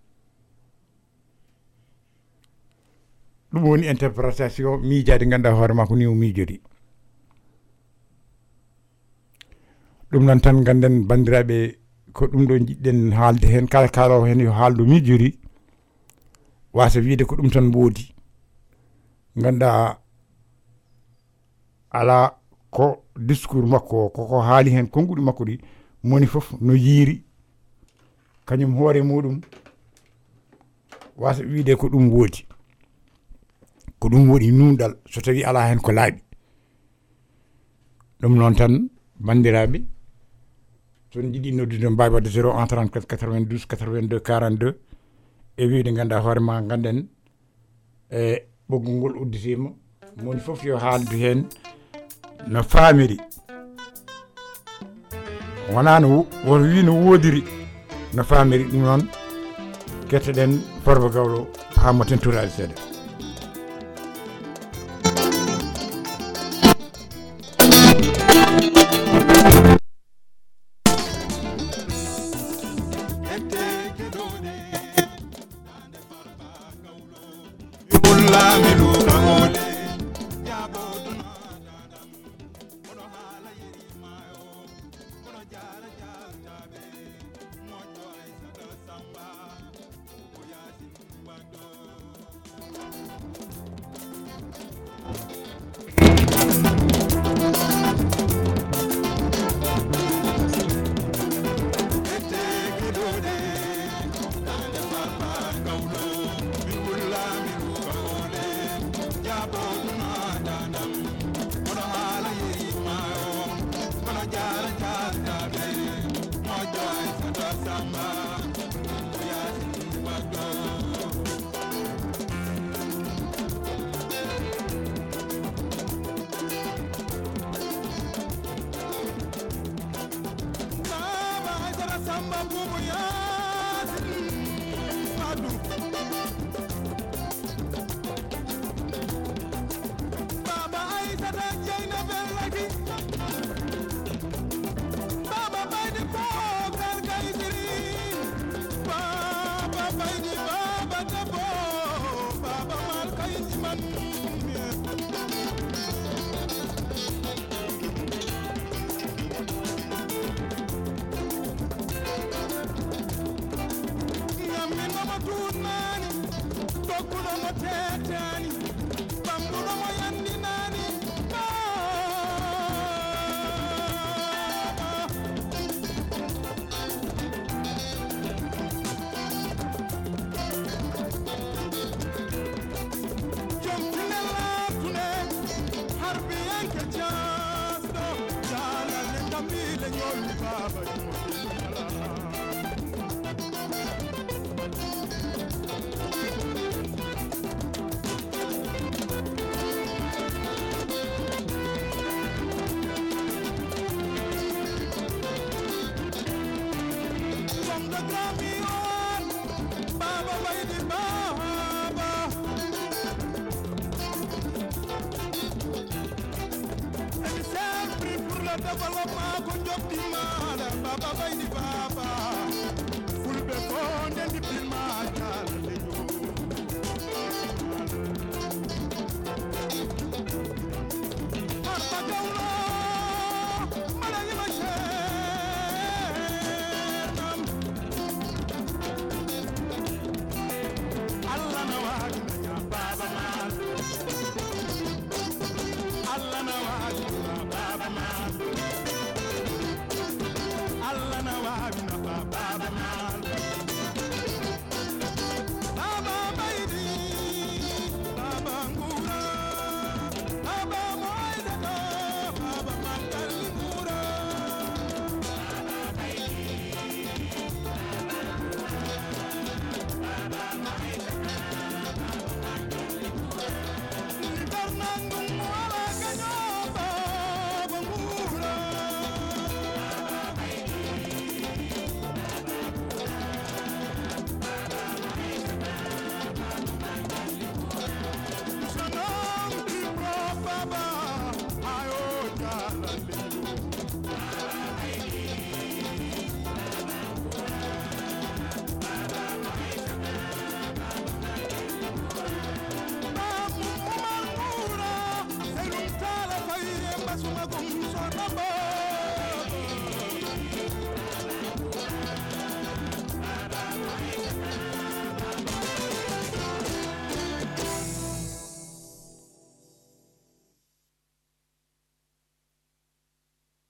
ɗum woni interprétation miijade ganduɗa hoore ma ko ni o miijori ɗum noon tan ganden bandiraɓe ko ɗum ɗo jiɗɗen haalde hen kala kalawo hen yo haaldu miijori wasa wiide ko ɗum tan woodi ganduɗa ala ko discours makko koko haali hen konguɗi makko ɗi moni fof no yiiri kañum hoore muɗum wasa wiide ko ɗum woodi nunɗal so tawi ala hen ko laaɓi ɗum noon tan bandiraɓe son jiiɗi noddude mbawi wadde 0 34 92 82 42 e wiide ganduɗa hoorema ganden e ɓoggol ngol udditima moni fof yo haaldu hen no faamiri wona no woto wi no woodiri no faamiri ɗum noon kettoɗen Farba Gawlo hamo tenturade seeɗa.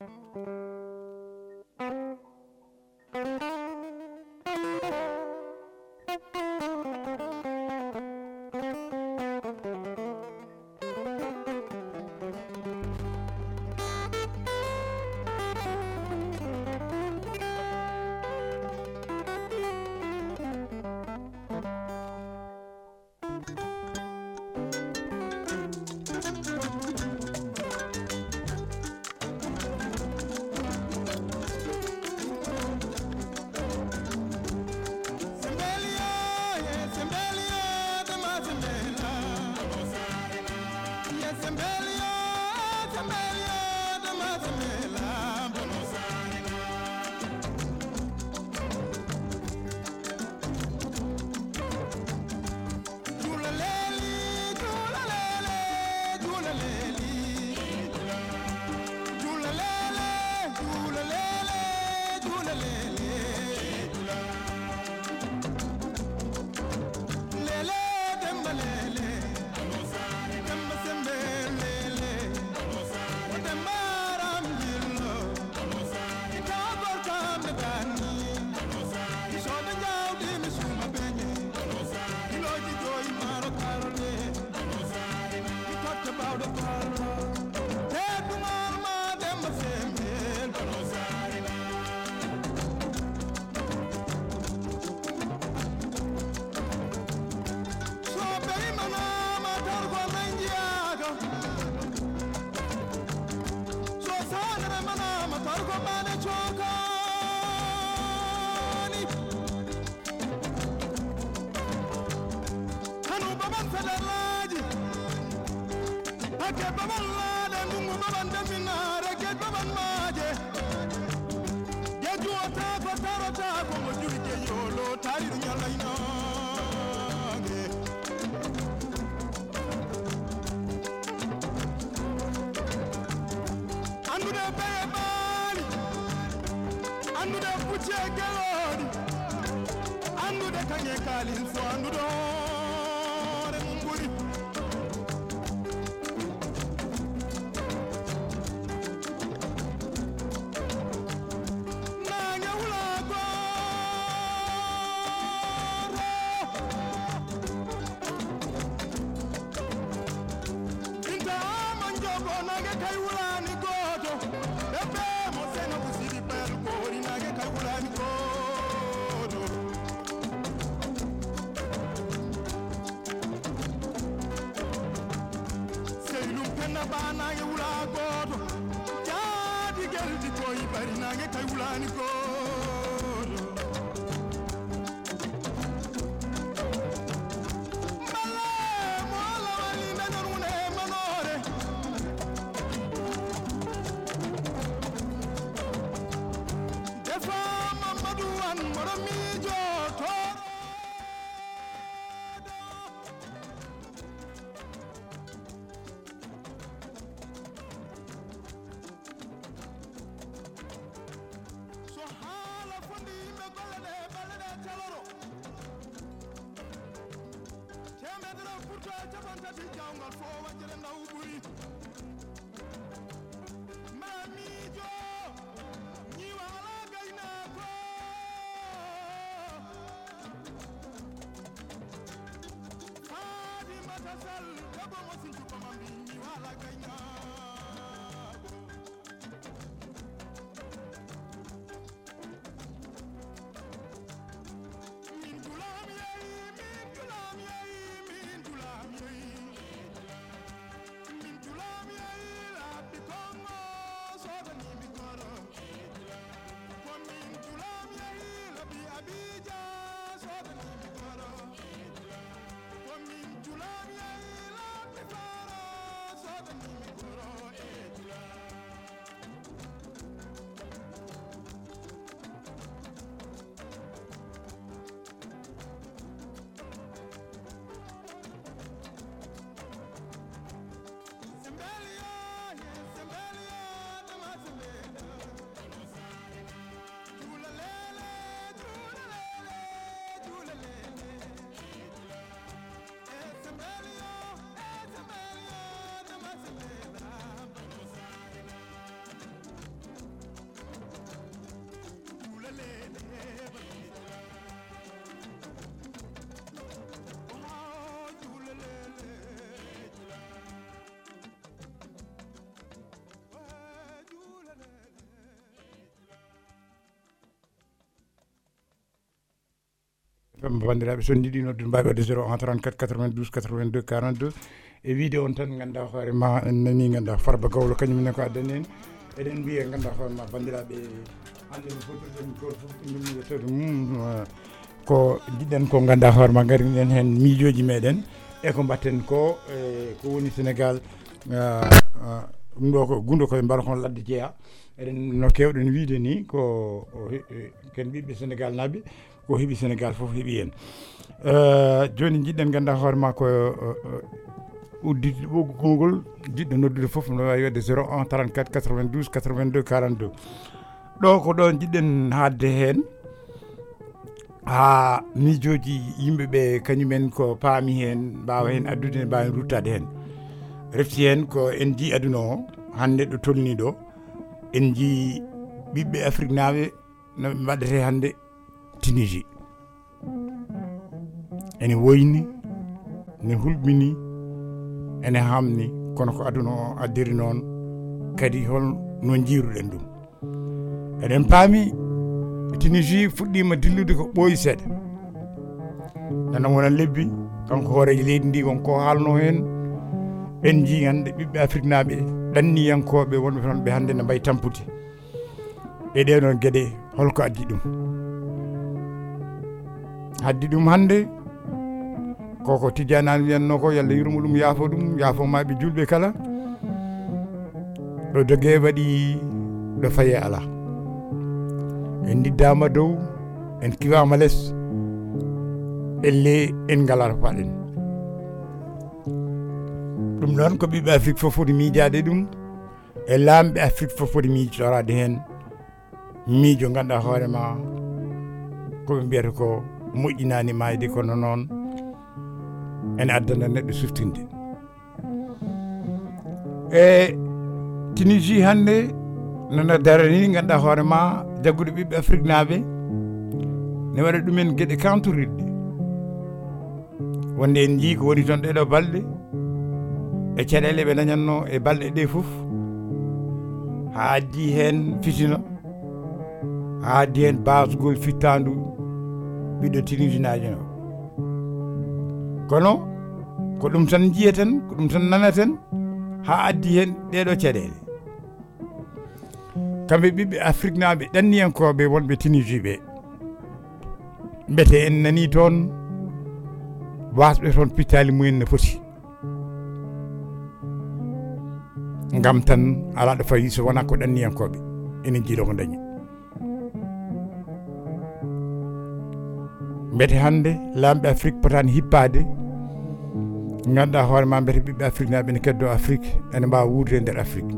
Abidjan, so the name bandiraɓe so jiiɗi noddude mbawi wadde 01 34 92 82 42 e wiide on tan ganduɗa hoore ma en nani ganduɗa Farba Gawlo kañumne ko addani en eɗen mbiya ganduɗa hoore ma bandiraɓe hande no fotirɗen goto foof ɗum yettode mum ko jiɗɗen ko ganduɗa hoore ma gari ɗen hen miijoji meɗen e ko mbatten ko ko woni Sénégal ɗum ɗo ko gundo koye mbara kon ladde jeeya eɗen no kewɗen wiide ni ko ken ɓiɓɓe Sénégal naaɓe ko heeɓi Sénégal foof heeɓi hen joni jiɗɗen ganduɗa hoore ma ko udditde ɓoggol gongol jiɗɗo noddude foof no wawi wadde 01 34 92 82 42 ɗo ko ɗon jiɗɗen hadde hen ha miijoji yimɓeɓe kañumen ko paami hen mbawa hen addude mbawa hen ruttade hen refti hen ko en jii aduna o hande ɗo tolni ɗo en jii ɓiɓɓe Afrique naaɓe no mbaɗete hande Tunisie ene woyni ne hulɓini ene hamni kono ko aduna o addiri noon kadi no jiiruɗen ɗum eɗen paami Tunisie fuɗɗima dillude ko ɓooyi seeɗa nana wona lebbi kanko hoorejo leydi ndi wonko haalno hen en jii hande ɓiɓɓe Afrique naaɓe ɗanniyankoɓe wonɓe toon ɓe hande ne mbayi tampude e ɗeɗon gueɗe holko addi ɗum haddi ɗum hande koko Tidiane an wiyanno ko yalla yurmo ɗum yaafo maɓe julɓe kala ɗo dogue waɗi ɗo faye ala en diddama dow en kiwama less elle en galata paɗen ɗum noon ko ɓiɓɓe Afrique fof foti miijade ɗum e lamɓe Afrique fof foti miijotorade hen miijo ganduɗa hoorema koɓe mbiyata ko moƴƴinani mayde kono noon ene addana neɗɗo suftinde e Tunisie hande nana darani ganduɗa hoorema jaggude ɓiɓɓe Afrique naaɓe ne waɗa ɗumen gueɗe kantoriɗɗe wonde en jii ko woni toon ɗeɗo balɗe e caɗele ɓe dañatno e balɗe ɗe foof ha addi hen fitina ha addi hen basgol fittandu ɓiɗɗo Tunisinaji o kono ko ɗum tan jiyeten ko ɗum tan nanaten ha addi hen ɗeɗo caɗele kamɓe ɓiɓɓe Afrique naaɓe ɗanniyankoɓe wonɓe Tunisie ɓe mbete en nani toon wasɓe toon pittali mumen no foti ngam tan ala ɗo fayi so wona ko ɗanniyankoɓe enen jiiɗo ko dañi mbete hande lamɓe Afrique potani hippade ganduɗa hoorema mbete ɓiɓɓe Afrique naaɓe ne keddo Afrique ene mbawa wuurde e nder Afrique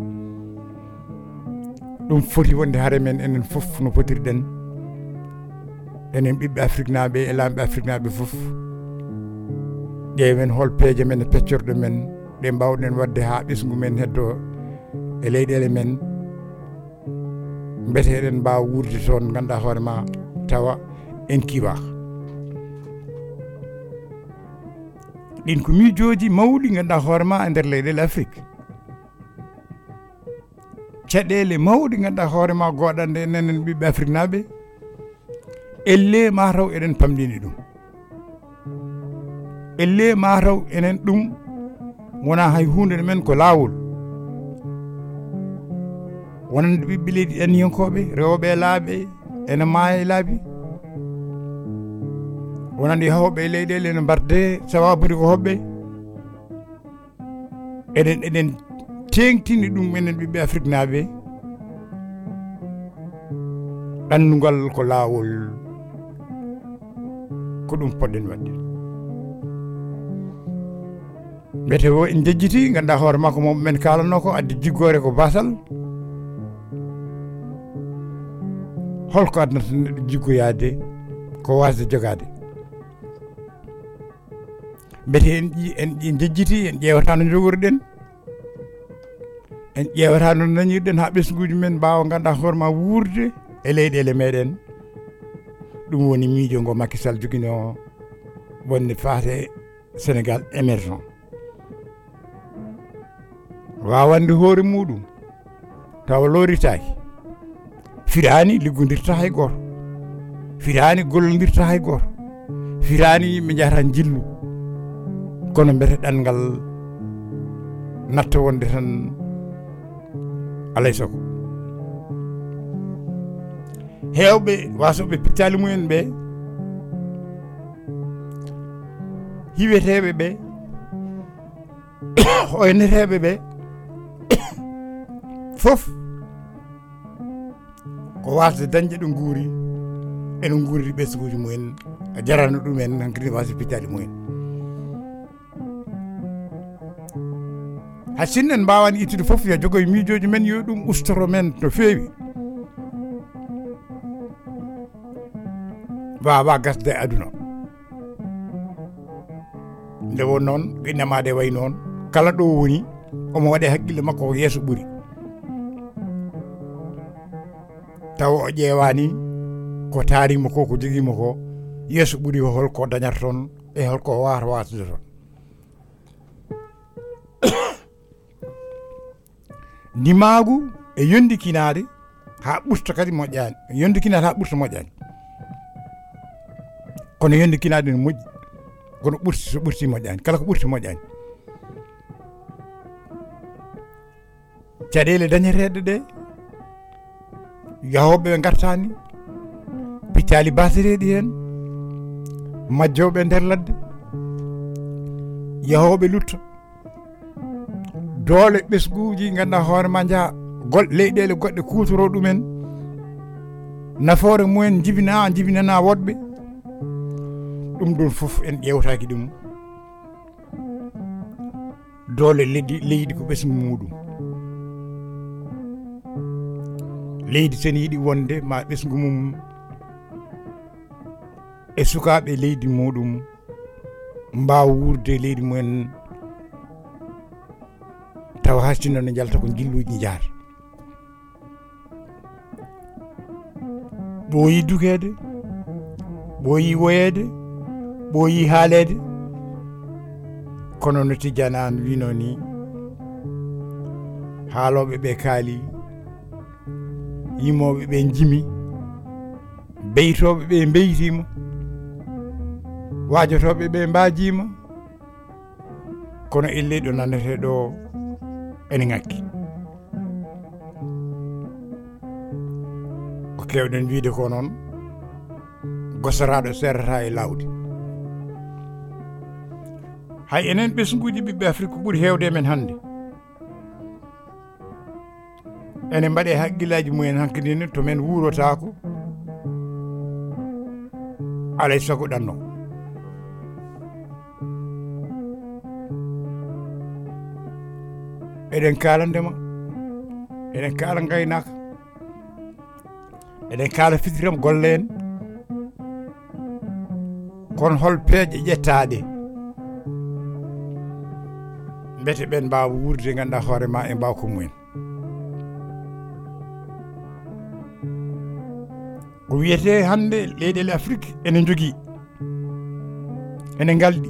ɗum foti wonde haare men enen foof no potirɗen enen ɓiɓɓe Afrique naaɓe e lamɓe Afrique naaɓe foof ƴeewen hol peeje men e peccorɗo men ɗe mbawɗen wadde ha ɓesgu men heddo e leyɗele men mbete eɗen mbawa wuurde toon ganduɗa hoorema tawa en kiwa ɗin ko miijoji mawɗi ganduɗa hoorema e nder leyɗele Afrique caɗele mawɗi ganduɗa hoorema goɗande enen ɓiɓɓe Afrique naaɓe elle mataw eɗen pamɗini ɗum elle mataw enen ɗum wona hay hunde men ko lawol wonande ɓiɓɓe leydi ɗanniyankoɓe rewɓe e laaɓe ene maaya e laabi wonande hawɓe e leyɗele ene mbarde sawabude ko hoɓɓe eɗen tengtini ɗum enen ɓiɓɓe Afrique naaɓe ɗandugal ko lawol ko ɗum poɗɗen wadde mbete o en jejjiti ganduɗa hoore makko moom men kalanno ko addi jiggore ko basal holko adnata neɗɗo jiggoyade ko wasde jogade mbete en jejjiti en ƴewata no jogorɗen en ƴewata no dañirɗen ha ɓesguji men mbawa ganduɗa hoorema wuurde e leyɗele meɗen ɗum woni miijo ngo Macky Sall joguino wonde faate Sénégal émergent wawande hoore muɗum tawa looritaki firani liggodirta hay goto firani gollodirta hay goto firani yimɓe jahata jillu kono mbete ɗanngal natta wonde tan alay sago heewɓe wasoɓe pittali mumen ɓe hiweteɓe ɓe oyneteɓe ɓe fof ko wasde dañde ɗo guuri ene guuriri ɓesguji mumen a jarano ɗumen hankkadi wasa pittali mumen ha sinno en mbawani ittude fof yo jogoye miijoji men yo ɗum ustoro men no feewi wawa gasde e aduna nde won noon innamade way noon kala ɗo woni omo waɗe haqqille makko ko yeeso ɓuuri taw o ƴeewani ko taarimo ko ko joguimo ko yeeso ɓuuri o holko dañata toon e holko wawata watude toon ndimaagu e yondikinade ha ɓurta kadi moƴƴani yondikinade ha ɓurta moƴƴani kono yondikinade ne moƴƴi kono ɓurti so ɓurti moƴƴani kala ko ɓurti moƴƴani caɗele dañeteɗe ɗe yahoɓe ɓe gartani pittali basereɗi hen majjoɓe nder ladde yahoɓe lutta doole ɓesguji ganduɗa hoorema jaa leyɗele goɗɗe kutoro ɗumen nafoore mumen jibinana woɗɓe ɗum ɗon fof en ƴewtaki ɗum doole leydi ko ɓesgu muɗum leydi sen yiiɗi wonde ma ɓesgu mum e sukaɓe leydi muɗum mbawa wurde leydi mumen tawa hastinno ne jalta ko jilluji jaata ɓooyi dukede ɓooyi woyede ɓooyi haalede kono no Tidiane an wino ni haaloɓe ɓe kaali yimoɓe ɓe jimi beytoɓe ɓe beytima wajotoɓe ɓe mbajima kono elle ɗo nannete ɗo ene ngakki ko kewɗen wiide ko noon gosoraɗo serrata e lawdi hay enen ɓesguji ɓiɓɓe Afrique ɓuuri hewde men hannde ene mbaɗe haqqillaji mumen hankkadine to men wurotako alay sago ɗanno eɗen kaala ndema eɗen kaala gaynaka eɗen kaala fitiram golle en kono hol peeje ƴettaɗe mbete ɓen mbawa wurde ganduɗa hoorema e mbawko mumen ko wiyete hande leyɗele Afrique ene jogui ene galɗi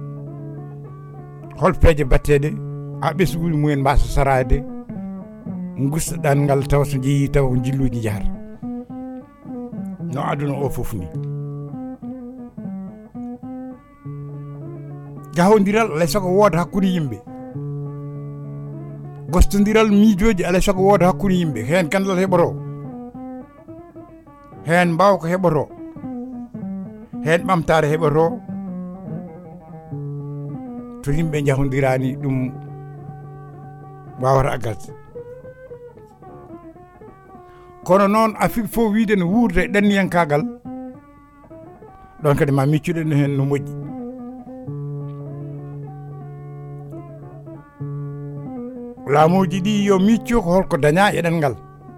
hol peeje batteɗe ha ɓesguji mumen mbasa sarade gustaɗan ngal taw so jeeyi taw ko jilluji jahata no aduna o foof ni jahodiral alay sago wooda hakkude yimɓe gostodiral miijoji alay sago wooda hakkude yimɓe hen gandal heɓoto hen mbawko heɓoto hen ɓamtare heɓoto to yimɓe jahodirani ɗum wawata aggas kono noon Afrique fof wiide no wurde e ɗanniyankagal ɗon kadi ma miccuɗen hen no moƴƴi laamuji ɗi yo micco ko holko daña e ɗengal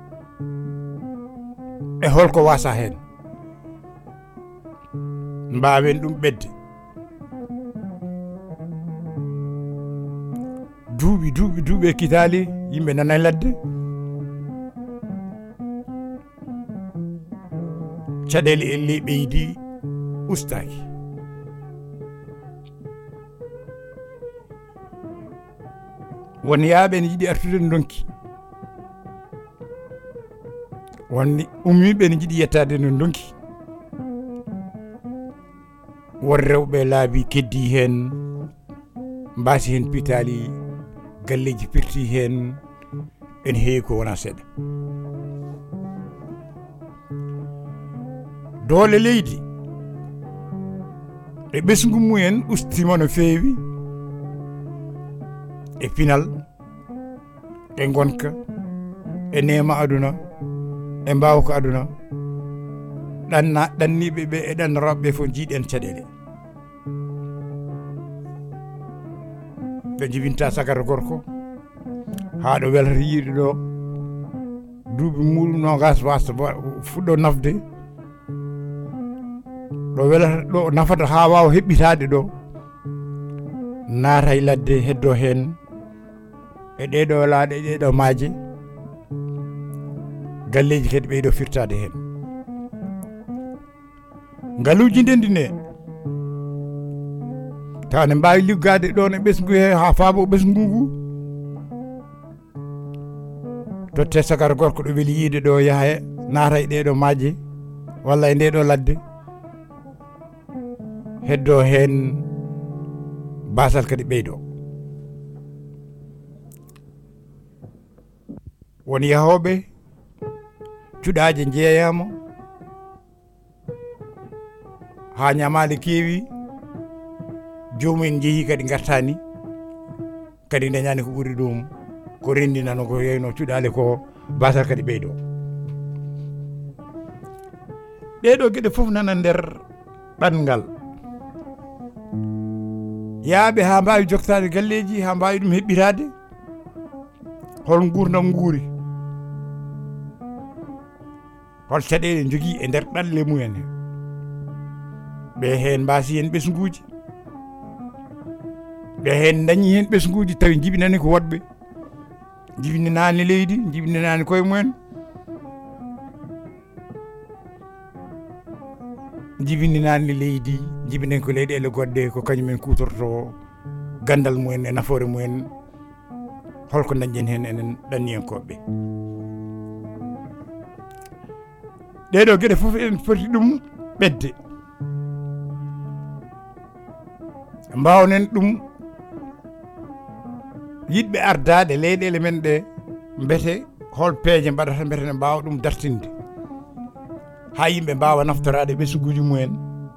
e holko wasa hen mbawen ɗum ɓedde duuɓi e kitali yimɓe nana e ladde caɗele elle ɓeydi ustaki won yaaɓe ne jiiɗi artude no donki wonni ummiɓe ne jiiɗi yettade no donki won rewɓe laabi keddi hen mbasi hen pitali galleji pirti hen en heewi ko wona seeɗa doole leydi e ɓesgu mumen ustima no feewi e pinal e gonka e nema aduna e mbawka aduna ɗanniɓe ɓe e ɗannoroɓe ɓe fof jiiɗen caɗele ɓe jibinta sagata gorko haa ɗo welata yiide ɗo duuɓi muɗum nogas wasta fuɗɗo nafde ɗo welata ɗo nafata haa wawa heɓɓitade ɗo naata e ladde heddo hen e ɗeɗo laaɗe e ɗeɗo maaje galleji kadi ɓeyɗo firtade hen ngaluji ndendi ne taw ne mbawi liggade ɗon e ɓesgu he ha faabo ɓesgu ngu totte sagara gorko ɗo weeli yiide ɗo yaaha naata e ɗeɗo maaje walla e ndeɗo ladde heddo hen basal kadi ɓeydo won yahoɓe cuɗaje jeeyama ha ñamale keewi jomumen jeehi kadi gartani kadi dañani ko ɓuuri ɗum ko rendinano ko yeyno cuɗale ko basal kadi ɓeydo ɗeɗo gueɗe foof nana nder ɗanngal yaaɓe ha mbawi joktade galleji ha mbawi ɗum heɓɓitade hol gurdam nguuri hol caɗele jogui e nder ɗalle mumen ɓe hen mbasi hen ɓesguji ɓe hen dañi hen ɓesguji tawi jibinani ko woɗɓe jibinani leydi jibinani koye mumen jibinani leydi jibinani ko leyɗele goɗɗe ko kañumen kutorto gandal mumen e nafoore mumen holko dañƴen hen enen ɗanniyankoɓe ɗeɗo gueɗe foof en foti ɗum ɓedde mbawnen ɗum yidɓe ardade leyɗele men ɗe mbete hol peeje mbaɗata mbete ne mbawa ɗum dartinde ha yimɓe mbawa naftorade ɓesguji mumen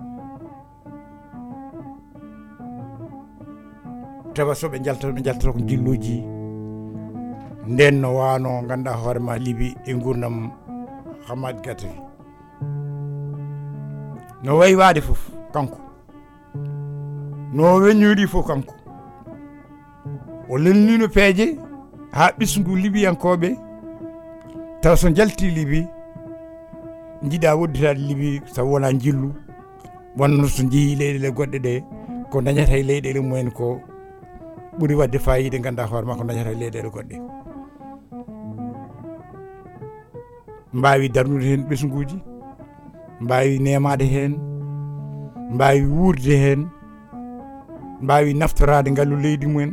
tawa soɓe jaltata ko jilluji nden no wano ganduɗa hoorema liibi e gurdam Hamad Gatawi no wayi waade foof kanko no weññori fof kanko o lelnino peeje ha ɓesgu libiyankoɓe taw so jalti libi jiiɗa wodditade libi sabu wona jillu wonno so jeehi leyɗele goɗɗe ɗe ko dañata e leyɗele mumen ko ɓuuri wadde fayida ganduɗa hoorema ko dañata e leyɗele goɗɗe mbawi darnude hen ɓesguji mbawi nemade hen mbawi wuurde hen mbawi naftorade ngallu leydi mumen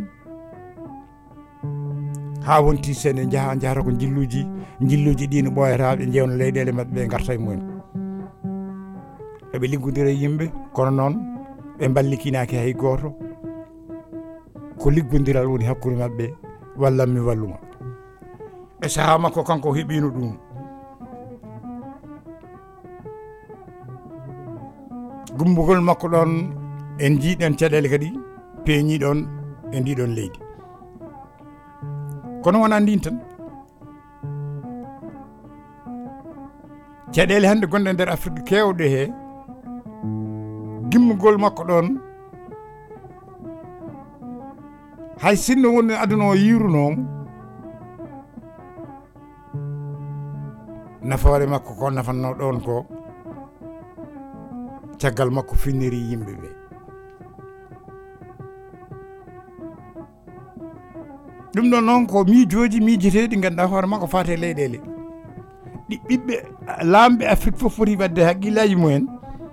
ha wonti sene jahata ko jilluji ɗi no ɓoyata ɓe jewna leyɗele mabɓe ɓe garta e mumen eɓe liggodira yimɓe kono noon ɓe ballikinaki hay goto ko liggodiral woni hakkude mabɓe wallanmi walluma e saaha makko kanko heeɓino ɗum gumbugol makko ɗon en jiiɗen caɗele kadi peeñi ɗon e ndiɗon leydi kono wona ndin tan caɗele hande gonɗe nder Afrique kewɗe he gimmugol makko ɗon hay sinno woni aduna o yirunomo nafoore makko ko nafanno ɗon ko caggal makko finniri yimɓe ɓe ɗum ɗon noon ko miijoji miijeteɗi ganduɗa hoore makko fate leyɗele ɗi ɓiɓɓe lamɓe Afrique fof foti wadde haqqillaji mumen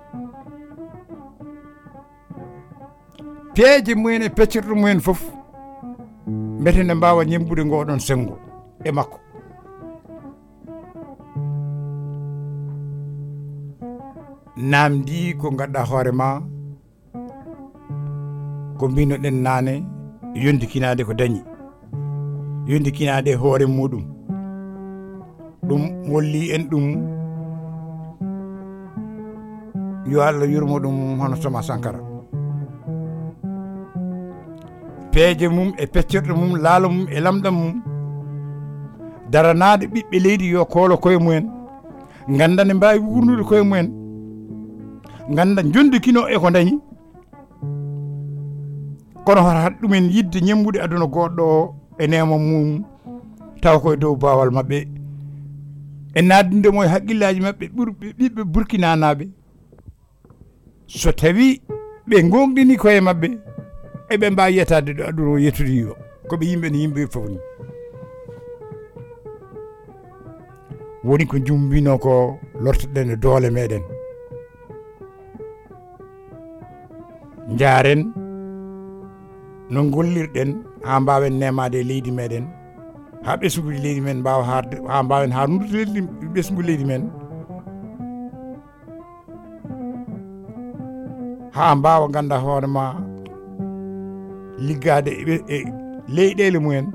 peeje mumen e peccirɗo mumen fof mbete ne mbawa ñembude ngoɗon sengo e makko namdi ko gadda hoore ma ko mbinoɗen naane yondikinade ko dañi yondikinade hoore muɗum ɗum wolli en ɗum yo Allah yurmo ɗum hono Thomas Sankara peeje mum e peccorɗe mum laalo mum e lamɗam mum daranade ɓiɓɓe leydi yo koolo koye mumen ganda ne mbawi wurnude koye mumen ganda jondikino e ko dañi kono hoto hat ɗumen yidde ñembude aduna goɗɗo o e nema mum taw koye dow bawal mabɓe e naddindemo e haqqillaji mabɓe ɓiɓɓe Burkina naɓe so tawi ɓe gonɗini koye mabɓe eɓe mbawi yettade ɗo aduna o yettudi yo koɓe yimɓe no yimɓe fof ni woni ko jumbino ko lortoɗen e doole meɗen jaren no gollirɗen ha mbawen nemade e leydi meɗen ha ɓesguji leydi men mbawa harde ha mbawen harnude ɓesgu leydi men ha mbawa ganda hoorema liggade e leyɗele mumen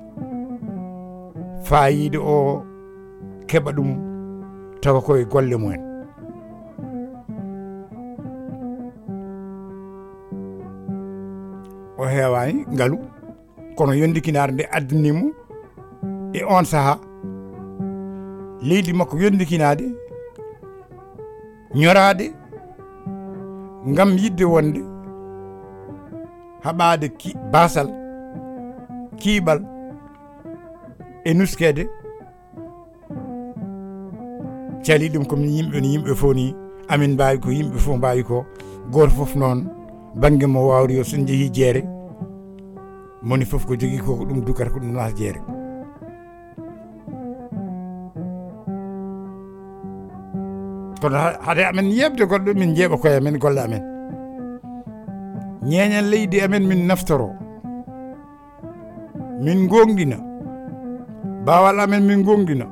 fayide o keɓa ɗum tawa koye golle mumen o heewani ngaalu kono yondikinare nde addinimo e on saaha leydi makko yondikinade ñorade ngam yidde wonde haɓade basal kiiɓal e nuskede cali ɗum komi yimɓe no yimɓe fof ni amin mbawi ko yimɓe fof mbawi ko goto fof noon banggue mo wawri yo son jeehi jeere moni fof ko jogui ko ɗum dukata ko ɗum nata jeere kono hade amen yebde goɗɗo min jeeɓa koye amen golle amen ñeeñan leydi amen min naftoro min gonɗina bawal amen min gonɗina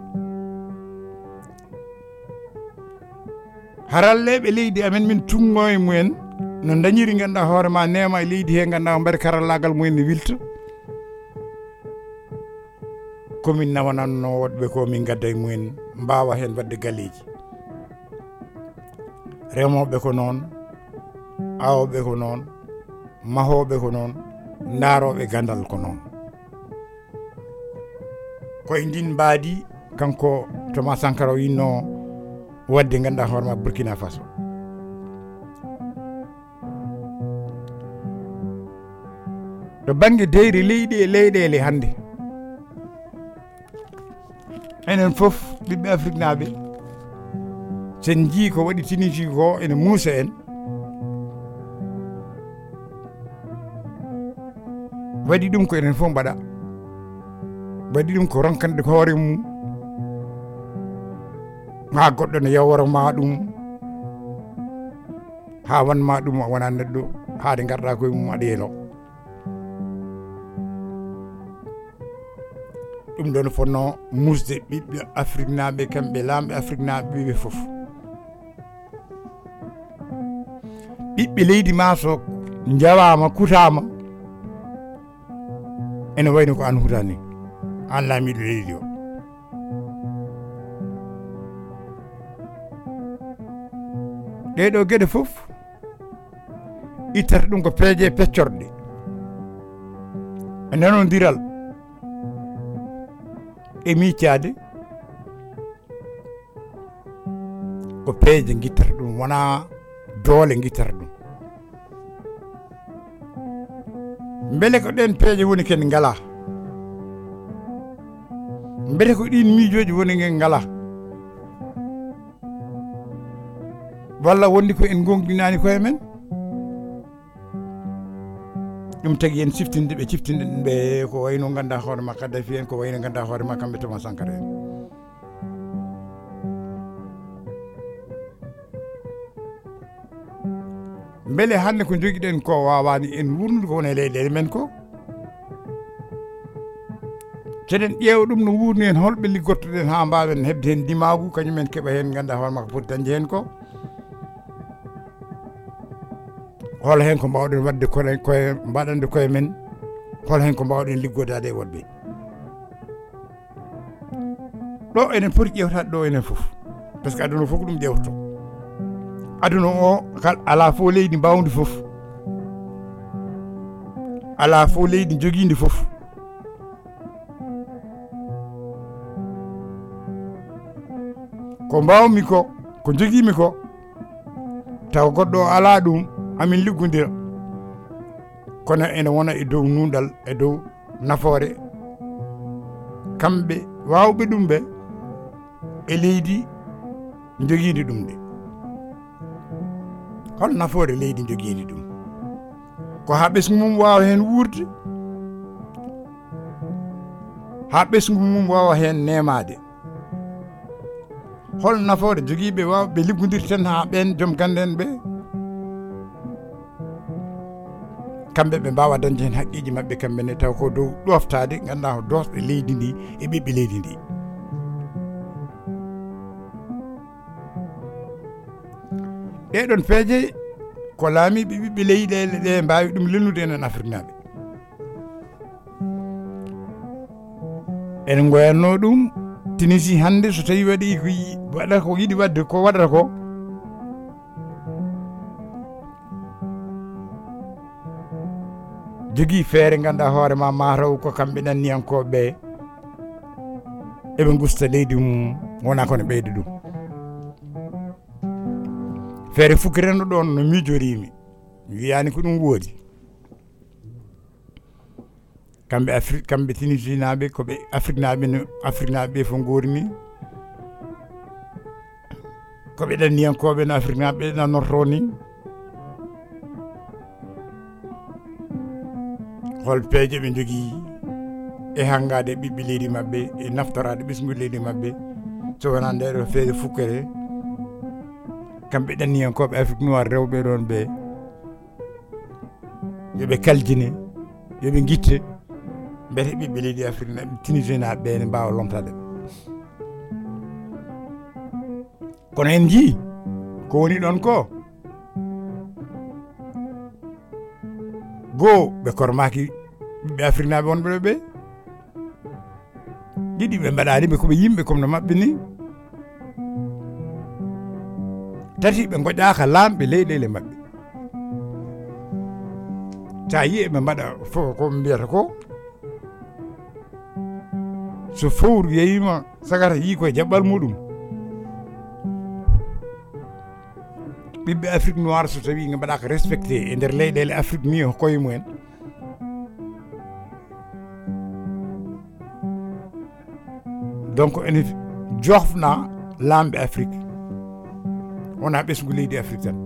haralleɓe leydi amen min tungo e mumen no dañiri ganduɗa hoorema nema e leydi he ganduɗa mbaɗa karallagal mumen ne wilta komin nawananno woɗɓe ko min gadda e mumen mbawa hen wadde galleji remoɓe ko noon awoɓe ko noon mahoɓe ko noon daaroɓe gandal ko noon koye ndin mbaadi kanko Thomas Sankara o yinno wadde ganduɗa hoorema Burkina Faso to banggue deyri leydi e leyɗele hande enen foof ɓiɓɓe Afrique naɓe sen jii ko waɗi Tunisie ko ene muusa en waɗi ɗum ko enen fof mbaɗa waɗi ɗum ko ronkande ko hoore mum ha goɗɗo ne yawworoma ɗum ha wanma ɗum wona neɗɗo haade garɗa koye mum aɗa yeelo ɗum ɗon fonno musde ɓiɓɓe Afrique naɓe kamɓe lamɓe Afrique naɓe ɓiɓe foof ɓiɓɓe leydi ma so jawama kutama ene wayno ko an hutani an laamiɗo leydi o ɗeɗo gueɗe foof ittata ɗum ko peeje peccorɗe e nanodiral e miccade ko peeje guittata ɗum wona doole guittata ɗum beele ko ɗen peeje woni ken ngala mbete ko ɗin miijoji woni ngen ngala walla wondi ko en gonɗinani koye men ɗum tagui en siftinde ɓe ciftinɗen ɓe ko wayno ganda hoorema Kaddafi en ko wayno ganda hoorema kamɓe Thomas Sankara en beele hande ko joguiɗen ko wawani en wurnude ko woni e leyɗele men ko seɗen ƴeewa ɗum no wurni en holɓe liggottoɗen ha mbawen hebde hen dimagu kañumen keeɓa hen ganda hoorema ko poti dañde hen ko hol hen ko mbawɗen wadde koye mbaɗande koye men hol hen ko mbawɗen liggodade e woɗɓe ɗo enen poti ƴewtade ɗo enen fof par ce que aduna fof ko ɗum ƴewtoto aduna o ala fof leydi mbawdi fof ala fof leydi joguidi fof ko mbawmi ko joguimi ko taw goɗɗo ala ɗum amin liggodira kono ene wona e dow nundal e dow nafoore kamɓe wawɓe ɗum ɓe e leydi joguidi ɗum de hol nafoore leydi joguidi ɗum ko ha ɓesgu mum wawa hen wurde ha ɓesgu mum wawa hen nemade hol nafoore joguiɓe wawɓe liggodirten ha ɓen joom gande en ɓe kamɓe ɓe mbawa dañde hen haqqiji mabɓe kamɓene taw ko dow ɗoftade ganduɗa ko dosɗe leydi ndi e ɓiɓɓe leydi ndi ɗeɗon peeje ko laamiɓe ɓiɓɓe leyɗele ɗe mbawi ɗum lennude enen Afrique naɓe en goyanno ɗum Tunisie hande so tawi waɗi ko waɗata ko yiɗi wadde ko waɗata ko jogui feere ganduɗa hoorema mataw ko kamɓe ɗanniyankoɓe eɓe gusta leydi mum wona kono ɓeyde ɗum feere fukkireno ɗon no miijorimi mi wiyani ko ɗum woodi kamɓe Afrique kamɓe Tunisie naɓe koɓe Afrique naɓe fo gorni koɓe ɗanniyankoɓe no Afrique naɓe nannorto ni hol peeje ɓe jogui e hangade ɓiɓɓe leydi mabɓe e naftorade ɓesgude leydi mabɓe so wona ndeɗo feere fukkere kamɓe ɗanniyankoɓe Afrique noir rewɓe ɗon ɓe yoɓe kaljine yoɓe guitte mbete ɓiɓɓe leydi Afrique naɓe Tunisien naɓe ɓe ne mbawa lomtade kono en jii ko woni ɗon ko goo ɓe kormaki ɓiɓɓe Afrique naɓe wonɓe ɓe ɗiɗi ɓe mbaɗani ɓe koɓe yimɓe comme no mabɓe ni tati ɓe goƴaka lamɓe leyɗele mabɓe sa yi eɓe mbaɗa fof ko mbiyata ko so fowru yeyima sagata yi koye jaɓɓal muɗum ɓiɓɓe Afrique noir so tawi ɓe mbaɗaka respecté e nder leyɗele Afrique ni koye mumen donc ene jofna lamɓe Afrique wona ɓesgu leydi Afrique tan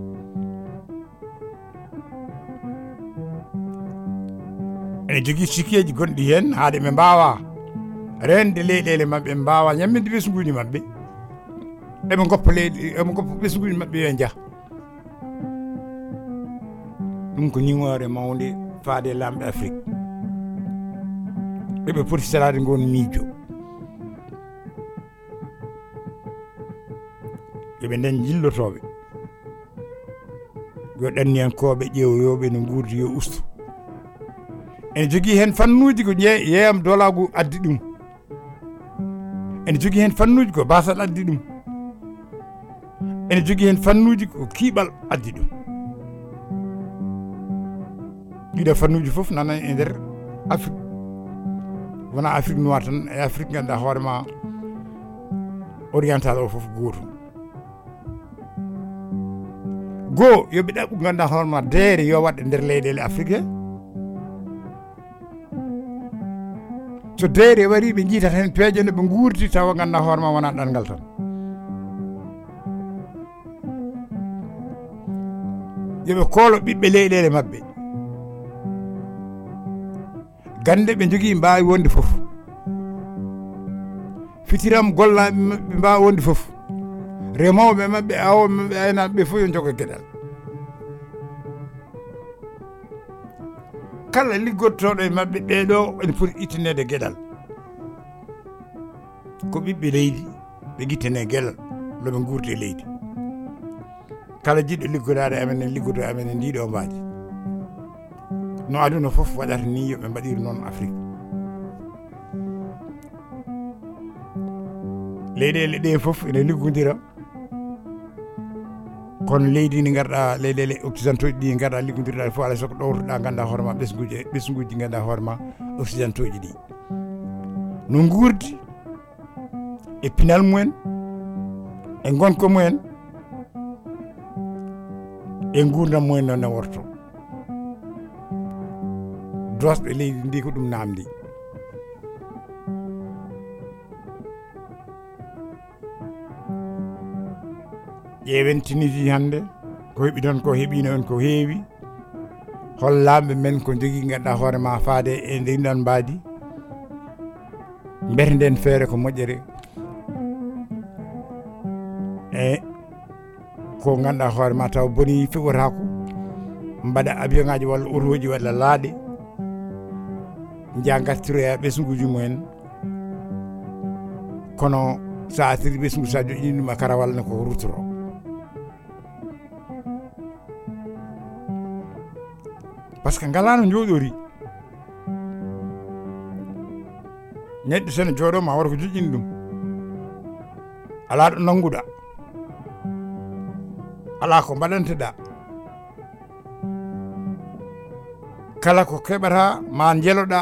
ene jogui sikkeji gonɗi hen haade ɓe mbawa rende leyɗele mabɓe mbawa ñamminde ɓesguji mabɓe eɓe goppa ɓesguji mabɓe yo jaah ɗum ko ñiŋore mawde faade lamɓe Afrique ɓeɓe poti salade gon miijo yoɓe nden jillotoɓe yo ɗanniyankoɓe ƴeewoyoɓe no guurdi yo ustu ene jogui hen fannuji ko yeeyam dolagu addi ɗum ene jogui hen fannuji ko basal addi ɗum ene jogui hen fannuji ko kiiɓal addi ɗum ɗiɗo fannuji foof nana e nder Afrique wona Afrique noir tan e Afrique ganduɗa hoorema oriental o foof goto goo yoɓe ɗaɓɓu ganduɗa hoorema deere yo waɗe nder leyɗele Afrique so deere wari ɓe jiitata hen peeje no ɓe guurdi tawa ganduɗa hoorema wona ɗanngal tan yoɓe koolo ɓiɓɓe leyɗele mabɓe gande ɓe jogui mbawi wonde foof fitiram gollaɓe mabɓe mbawi wonde foof remoɓe mabɓe awoɓe mabɓe aynaɓe ɓe foof yo jogo gueɗal kala liggodtoɗo e mabɓe ɓeɗo ene foti ittanede gueɗal ko ɓiɓɓe leydi ɓe guittane gueɗal noɓe guurdi e leydi kala jiɗɗo liggodaade amen e liggodo amen e ndiɗo mbaaji no aduna fof waɗata ni yoɓe mbaɗiri noon Afrique leyɗele ɗe fof ene liggodira kono leydi ndi garɗa leyɗele occidentaux ɗi garɗa liggodirɗa fof alay soko ɗowtoɗa ganduɗa hoorema ɓesguji ganduɗa hoorema occidentaux ɗi no guurdi e pinal mumen e gonka mumen e gurdam mumen noon ne worto dosɓe leydi ndi ko ɗum namdi ƴeewen Tunisie hannde ko heɓi ɗon ko heɓino on ko heewi hollaɓe men ko jogui ganduɗa hoorema faade e ndinɗon mbaadi mbete nden feere ko moƴƴere e ko ganduɗa hoorema taw boni feɓotako mbaɗa avion ngaji walla otoji walla laaɗe jaa gartiroya ɓesguji mumen kono sa asiri ɓesgu sa joƴini ɗum a karawal ne ko rutoro par ce que ngalano jooɗori neɗɗo sene jooɗoma wara ko joƴƴini ɗum ala ɗo nannguɗa ala ko mbaɗanteɗa kala ko keɓata ma jeeloɗa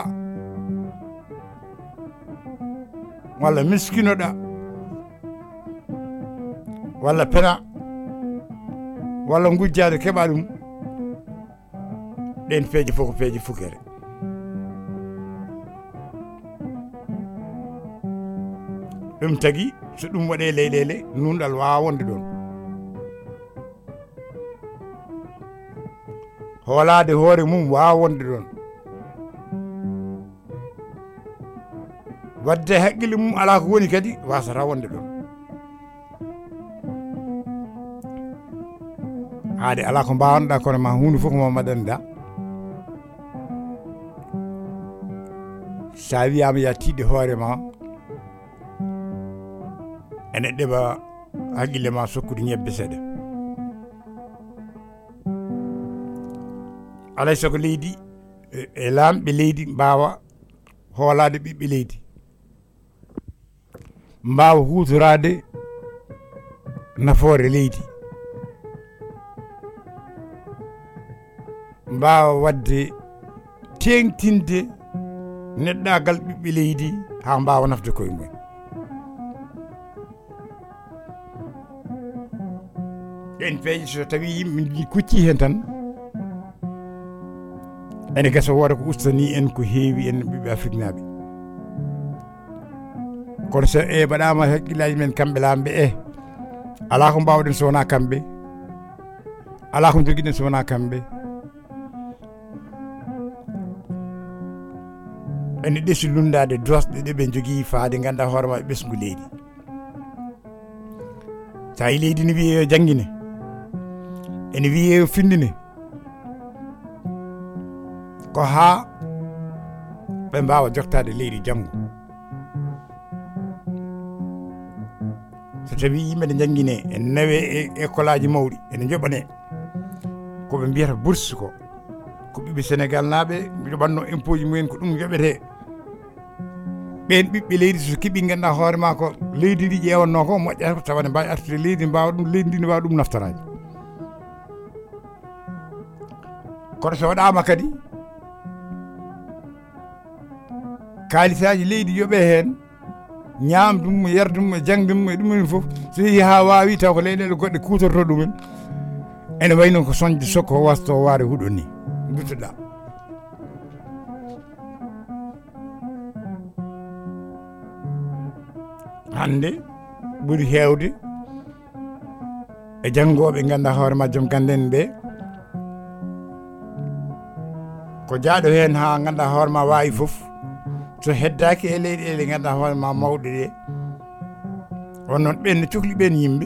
walla miskinoɗa walla pena walla gujjade keɓa ɗum ɗen peeje fof ko peeje fukere ɗum tagui so ɗum waɗe leyɗele nunɗal wawa wonde ɗon hoolade hoore mum wawa wonde ɗon wadde haqqille mum ala ko woni kadi wasata wonde ɗon haade ala ko mbawanoɗa kono ma hunde fof ko ma mbaɗanɗa sa wiyama ya tiɗde hoore ma ene ɗeɓa haqqille ma sokkude ñebbe seeɗa alay saago leydi e lamɓe leydi mbawa hoolade ɓiɓɓe leydi mbawa hutorade nafoore leydi mbawa wadde tengtinde neɗɗagal ɓiɓɓe leydi ha mbawa nafde koye mumen ɗen peeje so tawi yimɓe kucci hen tan ene gasa woda ko ustani en ko heewi en ɓiɓɓe Afrique naaɓe kono so mbaɗama haqqillaji men kamɓe lamɓe ala ko mbawɗen so wona kamɓe ala ko joguiɗen so wona kamɓe ene ɗeesi lundade dosɗe ɗeɓe jogui faade ganduɗa hoorema e ɓesgu leydi sa yi leydi ne wiye yo jangguine ene wiye yo findine ko ha ɓe mbawa joktade leydi janggo so tawi yimɓe ne jangguine en nawe e école aji mawɗi ene joɓane koɓe mbiyata bourse ko ɓiɓɓe Sénégal naaɓe joɓanno impôt ji mumen ko ɗum joɓete ɓen ɓiɓɓe leydi so keeɓi ganduɗa hoorema ko leydi ndi ƴewanno ko moƴƴata ko tawa ne mbawi artude leydi mbawa ɗum leydi ndi ne wawa ɗum naftorade kono so waɗama kadi kaalisaji leydi yooɓe hen ñamdum yerdum e jangdum e ɗumen foof so yeehi ha wawi taw ko leyɗele goɗɗe kutorto ɗumen ene way noon ko soñde sokko wasto waare huuɗo ni duttoɗa hande ɓuuri hewde e janggoɓe ganduɗa hoorema joom ganden en ɓe ko jaaɗo hen ha ganduɗa hoorema wawi foof so heddaki e leyɗele ganduɗa hoorema mawɗe ɗe on noon ɓen ne cohli ɓen yimɓe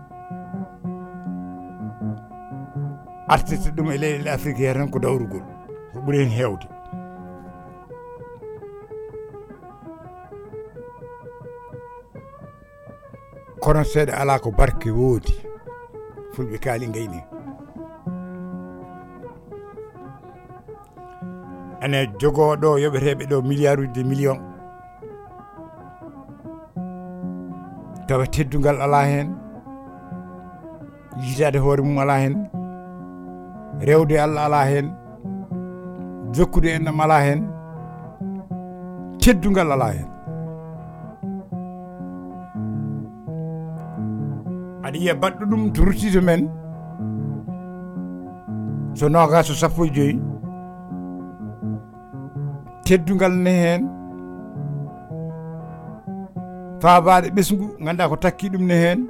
artirta ɗum e leyɗele Afrique he tan ko dawrugol ko ɓuuri hen hewde kono seeɗa ala ko barke woodi fulɓe kaali gayni ene jogoɗo yoɓeteɓe ɗo milliard uji de million tawa teddugal ala hen yitade hoore mum ala hen rewde Allah ala hen jokkude enɗam ala hen teddugal ala hen aɗa yiya baɗɗo ɗum to ruttito men so nogas so 15 teddugal ne hen faabade ɓesgu ganduɗa ko takki ɗum ne hen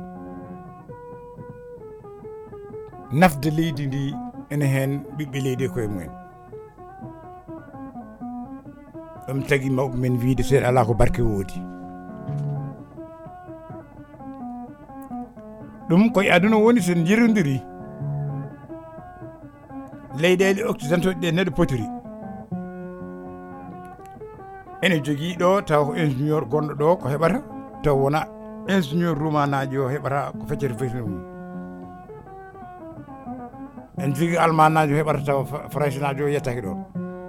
nafde leydi ndi ene hen ɓiɓɓe leydi koye mumen ɗum tagui mawɓe men wiide seeɗa ala ko barke woodi ɗum koye aduna woni sen jirodiri leyɗele occidentaux ɗe neɗɗo potiri ene jogui ɗo taw ko ingénieur gonɗo ɗo ko heɓata taw wona ingénieur rumanaji o heɓata ko feccete feytino mum en jogui allemand naji o heɓata taw français naji o yettaki ɗon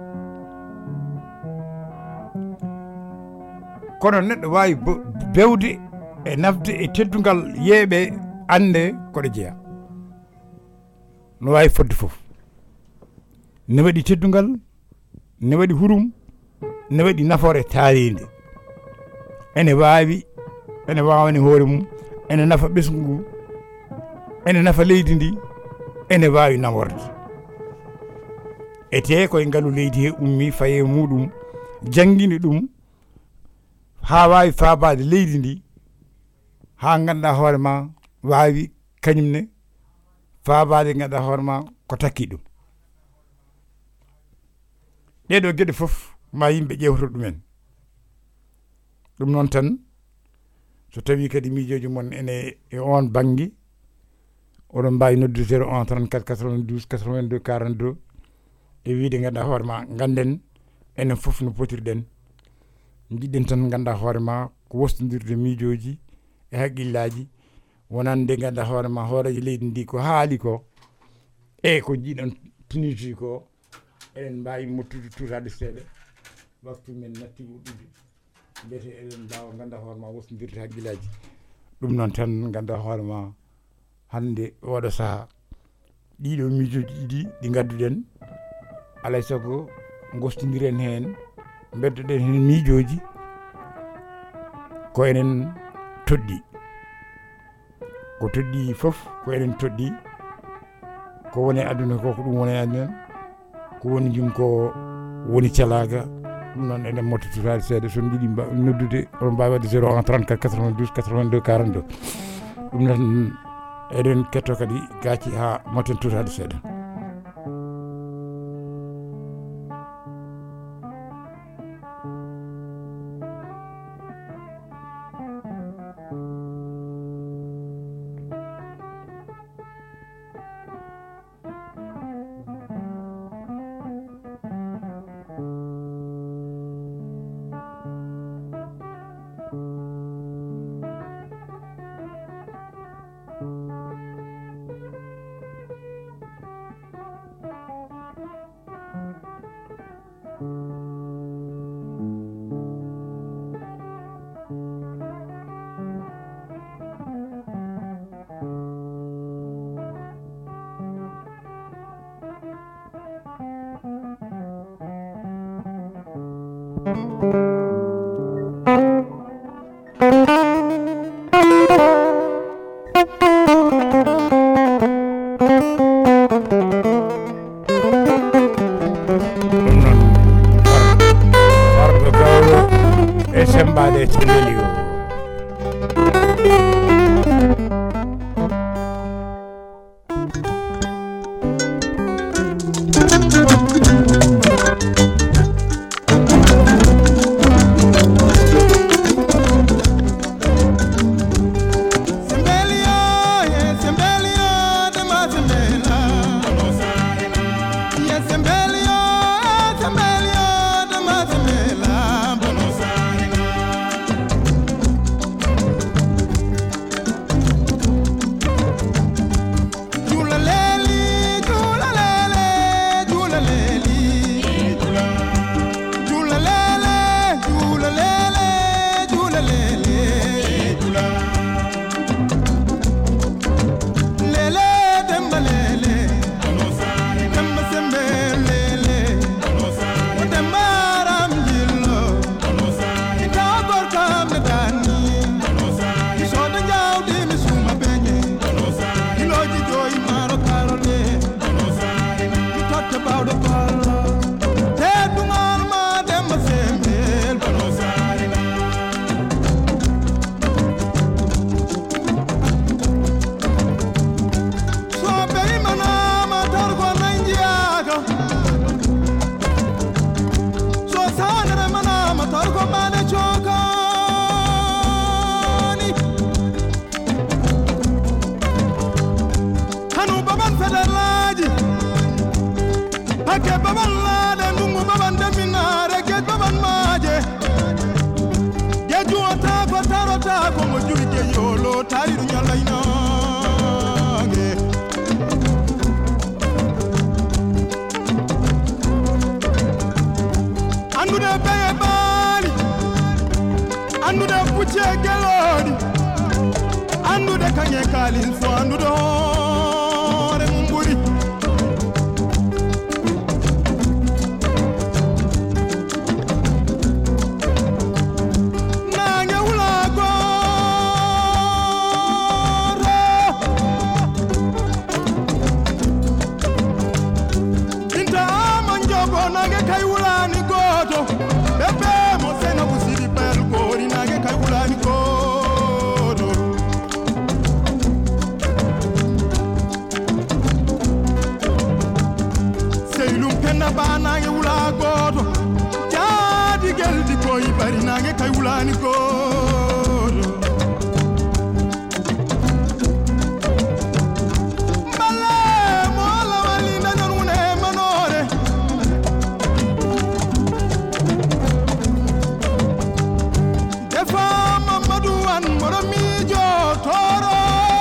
kono neɗɗo wawi bewde e nafde e teddugal yeeɓe ande koɗo jeeya no wawi fodde foof ne waɗi teddugal ne waɗi hurum ne waɗi nafoore taaride ene wawani hoore mum ene nafa ɓesgu ngu ene nafa leydi ndi ene wawi naworde ete koye ngaalu leydi he ummi faye muɗum jangguini ɗum ha wawi faabade leydi ndi ha ganduɗa hoore ma wawi kañumne faabade ganduɗa hoore ma ko takki ɗum ɗeɗo gueɗe foof ma yimɓe ƴewtoto ɗumen ɗum noon tan so tawi kadi miijoji mon ene e on banggue oɗon mbawi noddude 01 34 92 82 42 e wiide ganduɗa hoore ma ganden enen foof no potirɗen jiɗɗen tan ganduɗa hoore ma ko wostodirde miijoji e haqqillaji wonande ganduɗa hoore ma hooreji leydi ndi ko haali ko e ko jiiɗon tiniji ko eɗen mbawi mottude tutade seeɗa waktu men natti wuɗɗude mbiyete eɗen mbawa ganduɗa hoore ma wostodirde haqqillaji ɗum noon tan ganduɗa hoore ma hande oɗo saaha ɗiɗo miijoji ɗiɗi ɗi gadduɗen alay saago gostodiren hen beddoɗen hen miijoji ko enen toɗɗi ko toɗɗi foof ko enen toɗɗi ko woni aduna ko ɗum woni aduna ko woni jum ko woni calaga ɗum noon enen mottotade seeɗa son jiiɗi noddude oɗon mbawi wadde 01 34 92 82 42 ɗum noon eɗen ketto kadi gacci ha motten tutade seeɗa Make baban lade nungu baban deminare get baban maje. Geju ata ko tarota ko mo juri ke yolo tari du nyala inange. Andu de beye bali. Andu de puche gelodi. Andu de kanye kalil fo andu do re mumburi. Kaulani ko mala mola walinda nune manore defa Mamadou an moromi jo toro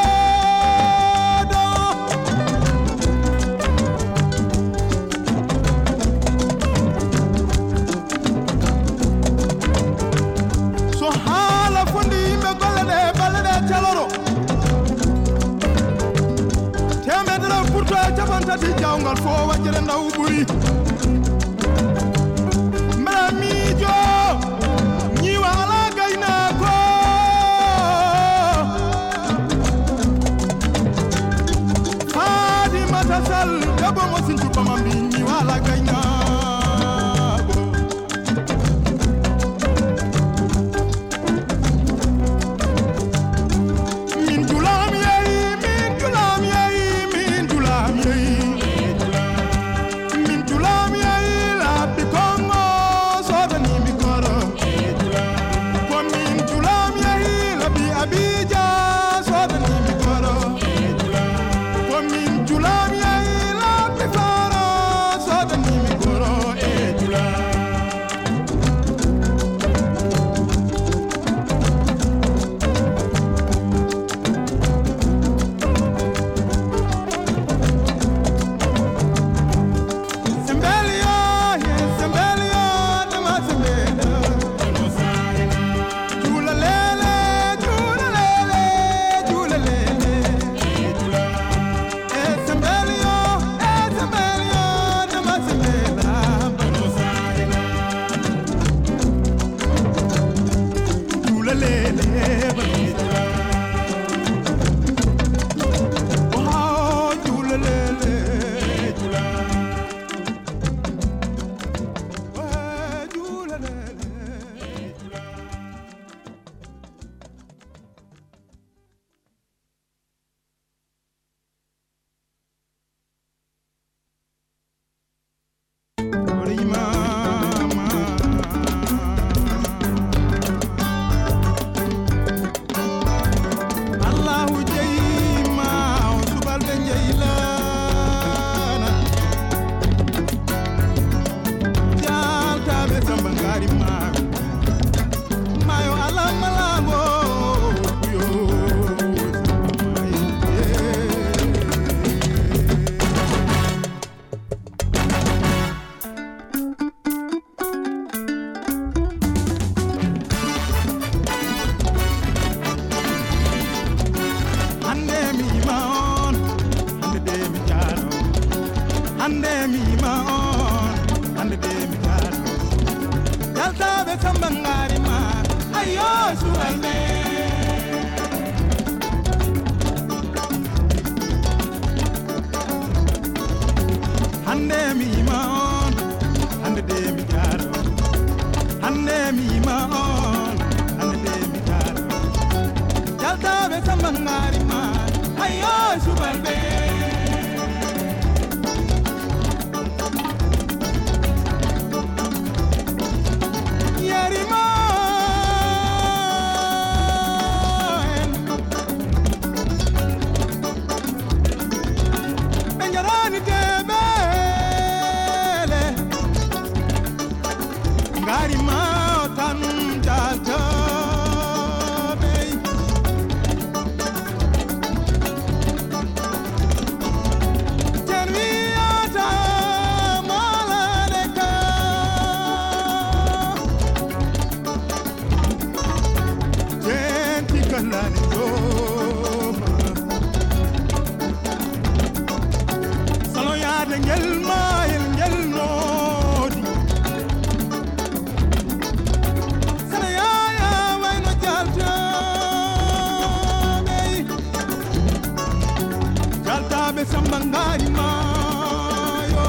tati jawngal fo wajjere ndaw buri mala mijo ñi wala gayna ko Fatima tasal dabo mo sintu pamambi ñi wala gayna sambangari mayo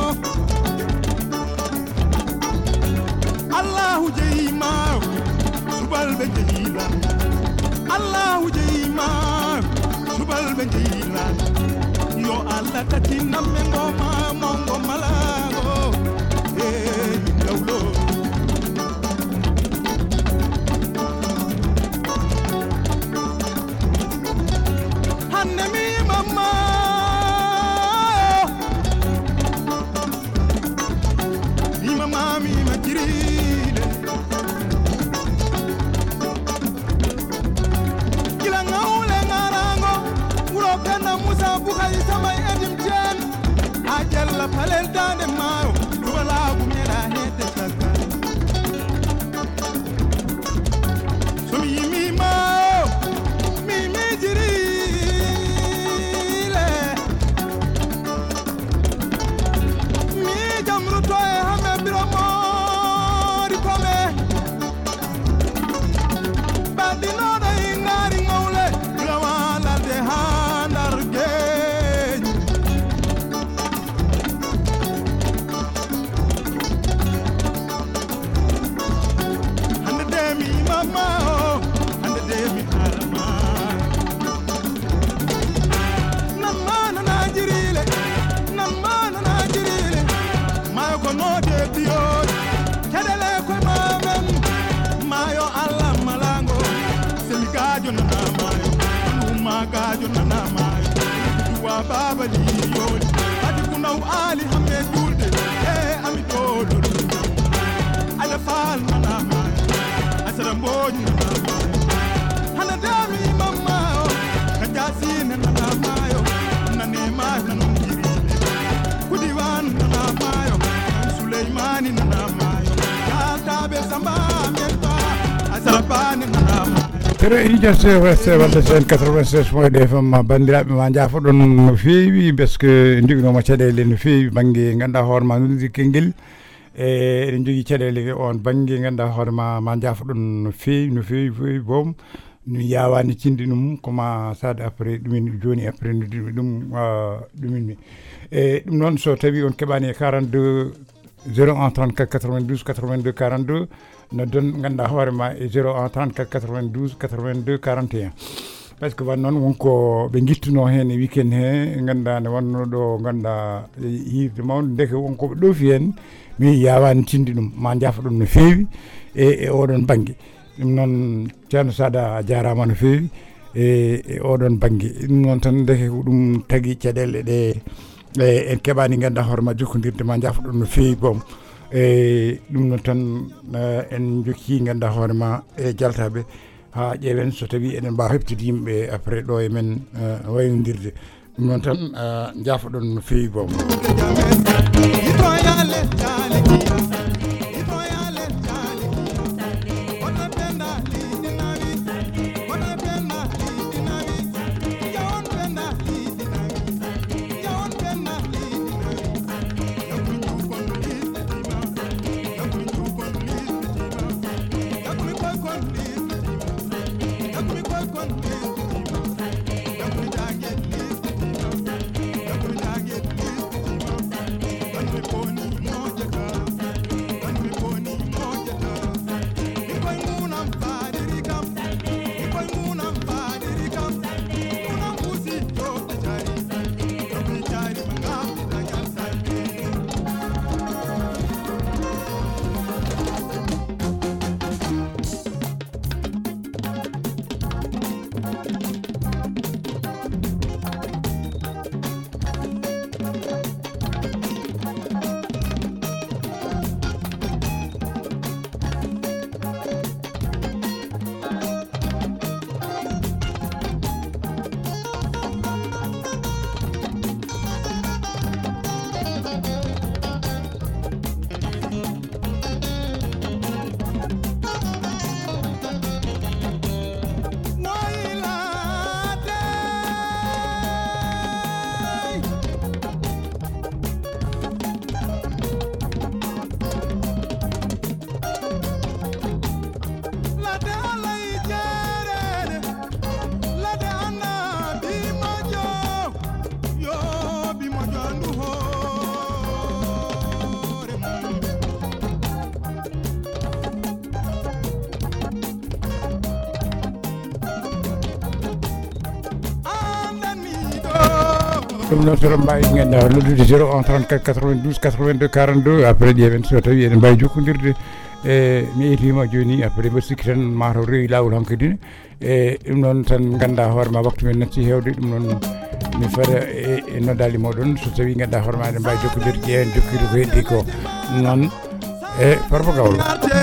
Allahu jeyima subal be jeyila Allahu jeyima subal be jeyila yo Allah tatina mengo ma mongo malago dawlo hanne mi mama mi majirile kila ngaule ngarango uro kana musa bukai sama edim jen ajalla palel dande mayo wala bumera hete saka sumi mi mayo mi jirile mi jamru toy hame biromo gajo nana mai duwa baba li yoli adi kuna ali hamme dulde ami dolo ala fal nana mai asara mboni nana mai hana dami mama kajasi nana mai nane mai nanu jirile kudiwan nana mai Suleimani nana mai tabe samba melba asara bani nana mai tere ija se wadde sen 96 moy defam bandiraɓe ma jaafoɗon no feewi parce que joguinoma caɗele no feewi banggue ganduɗa hoorema noddi kengel eɗen jogui caɗele on banggue ganduɗa hoorema ma jaafoɗon no feewi boom no yawani cinde ɗum koma sade après ɗumin joni après noddiɓe ɗum ɗuminmi ɗum noon so tawi on keɓani e 42 01 34 92 82 42 no don ganduɗa hoorema e 01 34 92 82 41 par ce que wan noon wonko ɓe guittuno hen e weekend he ganduɗa nde wanno ɗo ganduɗa yirde mawde deke wonkoɓe ɗoofi hen mi yawani tinde ɗum ma jaafa ɗum no feewi e oɗon banggue ɗum noon ceerno Sada a jarama no feewi e oɗon banggue ɗum noon tan deke ko ɗum tagui caɗele ɗe en keɓani ganduɗa hoorema jokkodirde ma jaafa ɗum no feewi boom ɗum noon tan en jokki ganduɗa hoorema e jaltaɓe ha ƴeewen so tawi eɗen mbawa heptude yimɓe après ɗo e men waynodirde ɗum noon tan jaafoɗon no feewi boom ɗum noon soɗo mbawi ganduɗa noddude 01 34 92 82 42 après ƴeewen so tawi eɗen mbawi jokkodirde mi yeetima joni après mbiɗa sikki tan mataw rewi lawol hankkadine ɗum noon tan ganda hoore ma waktu men natti hewde ɗum noon mi fada e noddali moɗon so tawi ganduɗa hoore ma eɗen mbawi jokkodirde ƴeewen jokkide ko heddi ko noon e Farba Gawlo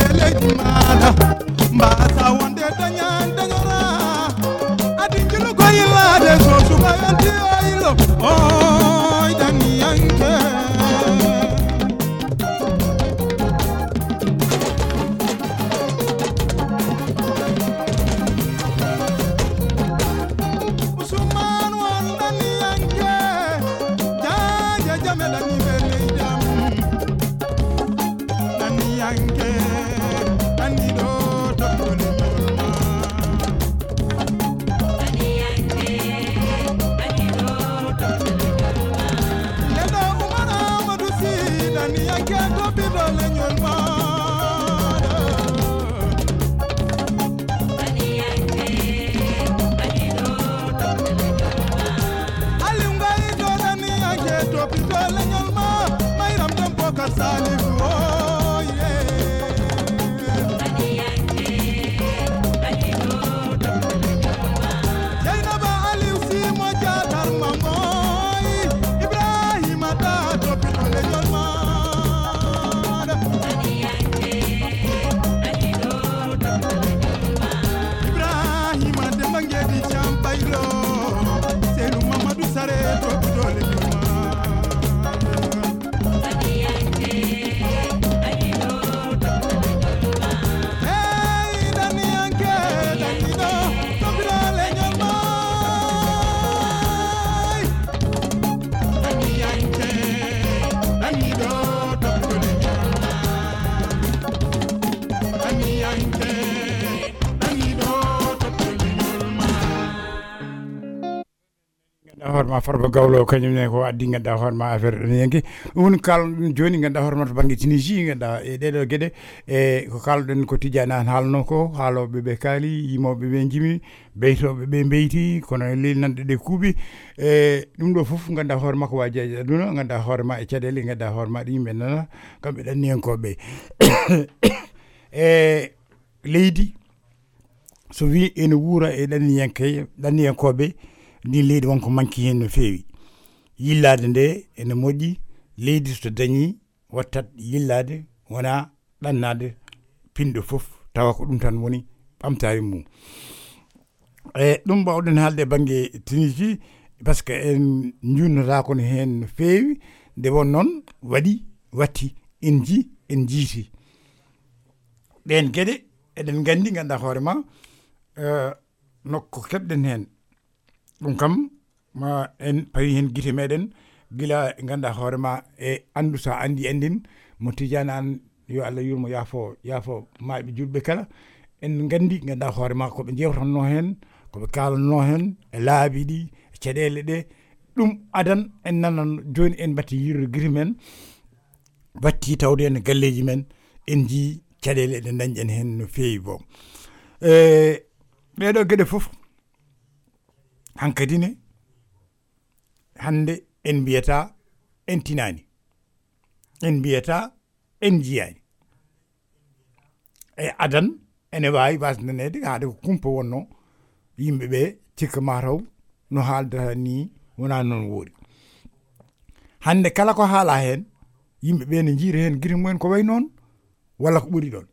mbasa wonde dañan dañora adi jilu ko yillade so suka yanti oyilo oy dani yanke Usman wan dani yanke jaja jamela ni bele jam dani yanke dani do horma Farba Gawlo kañum ne ko addi ganduɗa hoorema affaire ɗen yenki ɗum kalɗum joni ganduɗa hoorema to banggue Tunisie ganduɗa e ɗeɗo gueɗe e ko kalɗen ko Tidiane an haalno ko haaloɓe ɓe kaali yimoɓe ɓe jimi beytoɓe ɓe beyti kono e leli nanɗe ɗe kuuɓi e ɗum ɗo foof ganduɗa hoorema ko waji aji aduna ganduɗa hoorema e caɗele ganduɗa hoorema ɗo yimɓe nana kamɓe ɗanniyankoɓe e leydi so wi ene wuura e ɗanniyankoɓe ndi leydi wonko manki hen no feewi yillade nde ene moƴƴi leydi so dañi wattat yillade wona ɗannade pinɗo foof tawa ko ɗum tan woni ɓamtare mum e ɗum mbawɗen haalde banggue Tunisie par ce que en jurnata kono hen no feewi nde won noon watti en jiiti ɗen gueɗe eɗen gandi ganduɗa hoorema nokko keɓɗen hen ɗum kam ma en pawi hen guite meɗen gila ganduɗa hoorema e andu sa andi andin mo Tidiane an yo Allah yurmo yaafo maaɓe julɓe kala en gandi ganduɗa hoorema koɓe jewtanno hen koɓe kalanno hen e laabi ɗi e caɗele ɗe ɗum adan en nanan joni en batti yirde guite men batti tawde en galleji men en jii caɗele ɗe dañƴen hen no feewi bo ɓeɗo gueɗe foof hankkadine hande en mbiyata en tinani en mbiyata en jiyani e adan ene wawi wasdanede haade ko kumpa wonno yimɓeɓe cikka mataw no haaldata ni wona noon woori hande kala ko haala hen yimɓeɓe ne jiira hen guite mumen ko way noon walla ko ɓuuri ɗon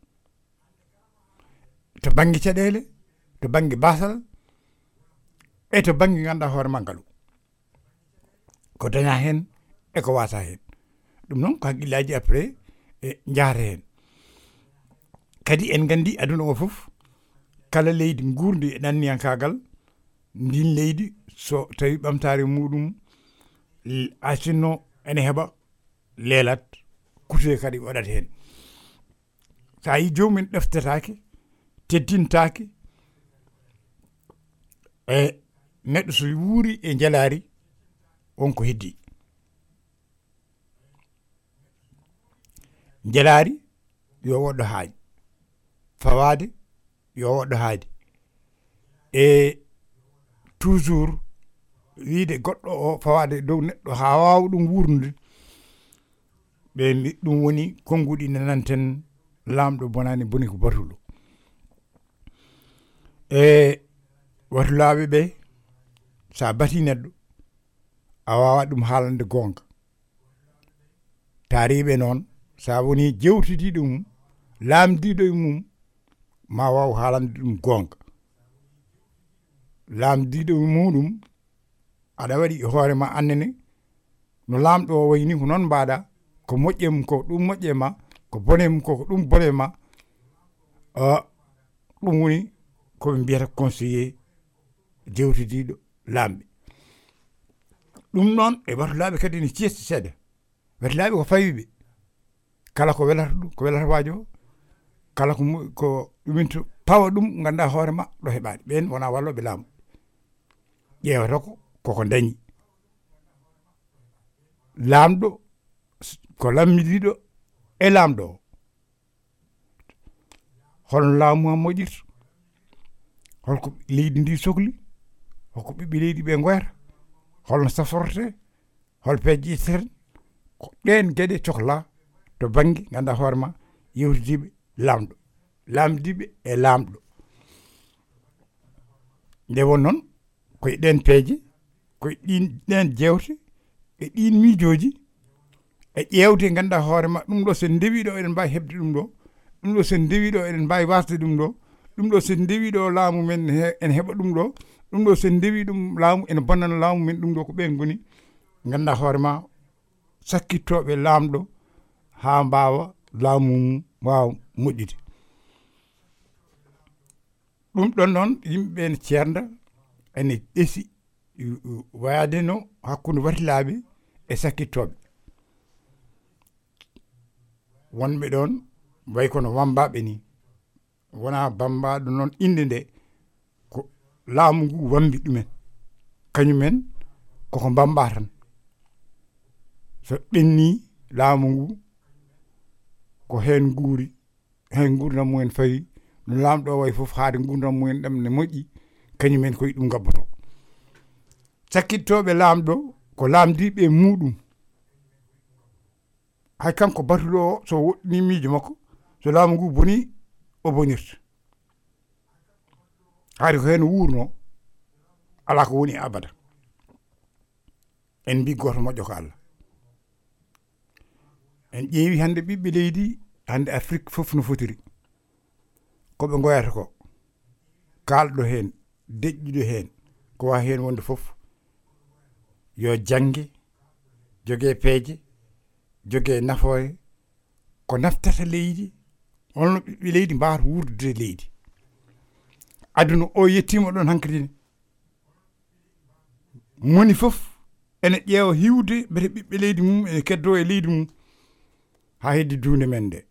to banggue caɗele to banggue basal e to banggue ganduɗa hoorema ngaalu ko daña hen e ko wasa hen ɗum noon ko haqqillaji après e jaata hen kadi en gandi aduna o foof kala leydi gurdi e ɗanniyankagal ndin leydi so tawi ɓamtare muɗum asinno ene heeɓa leelat kutue kadi waɗat hen sa yi jomumen ɗeftetake teddintake e neɗɗo so wuuri e jalari wonko heddi jalari yo woɗɗo haaji fawade yo woɗɗo haadi e toujours wiide goɗɗo o fawade dow neɗɗo ha wawa ɗum wurnude ɓe mbi ɗum woni konnguɗi nananten lamɗo bonani boni ko batulo e watulaɓe ɓe sa bati neɗɗo a wawa ɗum haalande gonga taariɓe noon sa woni jewtidiɗo mum laamdiɗo e mum ma waw haalande ɗum gonga laamdiɗo e muɗum aɗa waɗi e hoorema annene no lamɗo o wayni ko noon mbaɗa ko moƴƴe mum ko ɗum moƴƴe ma ko bone mum ko ɗum bone ma ɗum woni koɓe mbiyata conseiller jewtidiɗo lamɓe ɗum noon e watulaɓe kadi ne ceesti seeɗa watulaɓe ko fawiɓe kala ko welata ɗum ko welata waajo kala ko ɗuminto pawa ɗum ganda hoore ma ɗo heɓade ɓen wona walloɓe laamu ƴeewata koko dañi laamɗo ko lammidiɗo e laamɗo o holno laamu am moƴirta holko leydi ndi sohli holko ɓiɓɓe leydi ɓe goyata holno saforte hol peeje itteten ko ɗen gueɗe cohla to banggue ganda hoore ma yewtidiɓe lamɗo lamdiɓe e lamɗo nde won noon koye ɗen peeje koye ɗen jewte e ɗin miijoji e ƴewde ganda hoore ma ɗum ɗo sen dewi ɗo eɗen mbawi hebde ɗum ɗo sen dewi ɗo eɗen mbawi wasde ɗum ɗo sen dewi ɗo laamu men ene heɓa ɗum ɗo sen dewi ɗum laamu ene bonnana laamu men ɗum ɗo ko ɓen goni ganda hoore ma sakkittoɓe laamɗo ha mbawa laamu mum wawa moƴƴude ɗum ɗon noon yimɓeɓe ne ceerda ene ɗeesi wayade no hakkude watilaɓe e sakkittoɓe wonɓe ɗon way kono wambaɓe ni wona bambaɗo noon inde nde ko laamu ngu wambi ɗumen kañumen koko bamba tan so ɓenni laamu ngu ko hen guuri hen gurdam mumen fawi no lamɗo o way foof haade gurdam mumen ɗam ne moƴƴi kañumen koye ɗum gabboto sakkittoɓe lamɗo ko lamdiɓe muɗum hay kanko batuɗo o so woɗɗini miijo makko so laamu ngu boni o bonirta haade ko hen wurno ala ko woni abada en mbi goto moƴƴo ko Allah en ƴeewi hande ɓiɓɓe leydi hande Afrique foof no fotiri koɓe goyata ko kalɗo hen deƴƴiɗo hen ko wawi hen wonde foof yo jangge jogue peeje jogue nafoore ko naftata leydi holno ɓiɓɓe leydi mbawata wurdude leydi aduna o yettima ɗon hankkadine moni foof ene ƴeewa hiwde mbete ɓiɓɓe leydi mum ene keddo e leydi mum ha heddi dunde men nde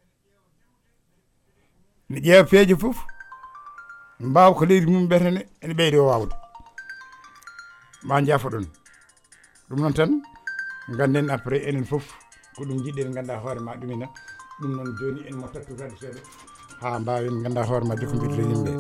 ne ƴeewa peeje foof mbawa ko leydi mum ɓetene ene ɓeyde o wawde ma jaafo ɗon ɗum noon tan ganden après enen foof ko ɗum jiɗɗen ganda hoore ma ɗumina ɗum noon joni en mo tattutade seeɗa ha mbawen ganda hoore ma jokkodirde yimɓe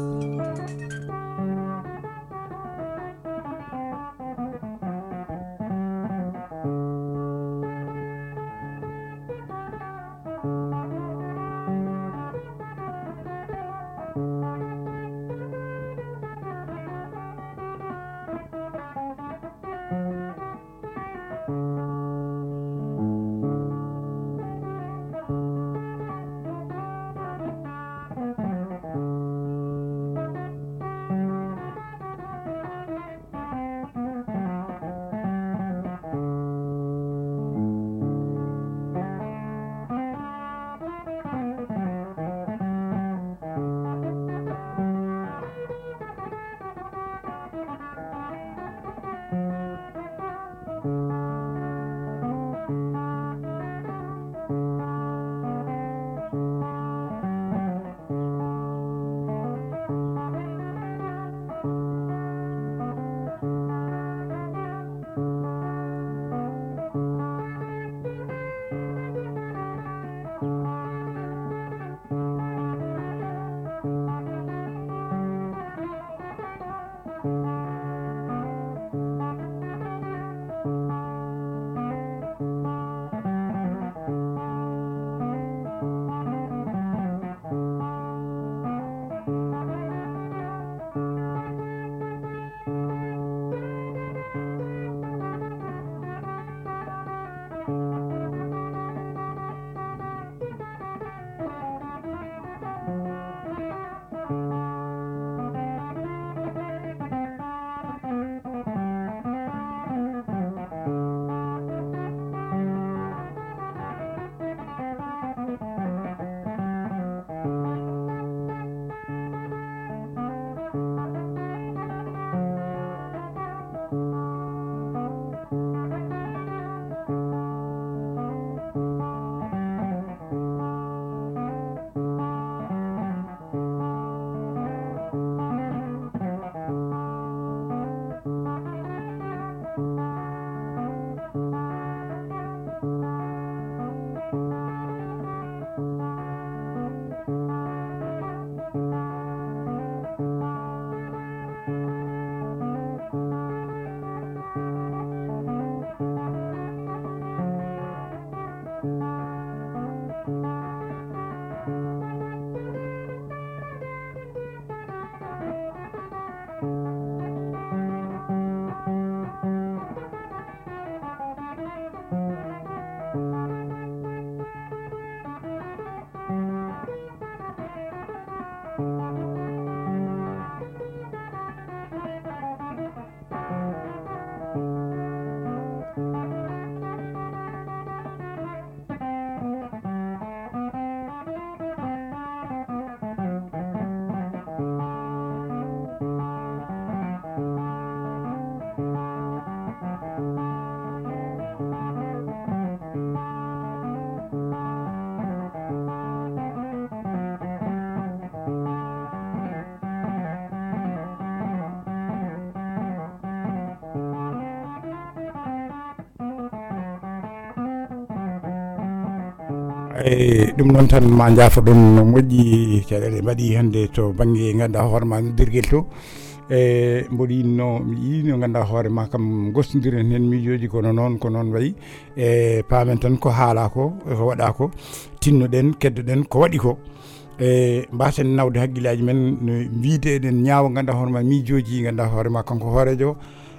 ɗum noon tan ma jaafa ɗon no moƴƴi caɗele mbaɗi hannde to baŋnge ganduɗa hoore ma noddirguel to mboɗo yinno mi yii no ganduɗa hoore ma kam gostodiren hen miijoji ko noon wayi paamen tan ko haala ko waɗa ko tinnoɗen keddoɗen ko waɗi ko mbasen nawde haqqillaji men no wiide eɗen ñaawa ganduɗa hoore ma miijoji ganduɗa hoore ma kanko hoorejo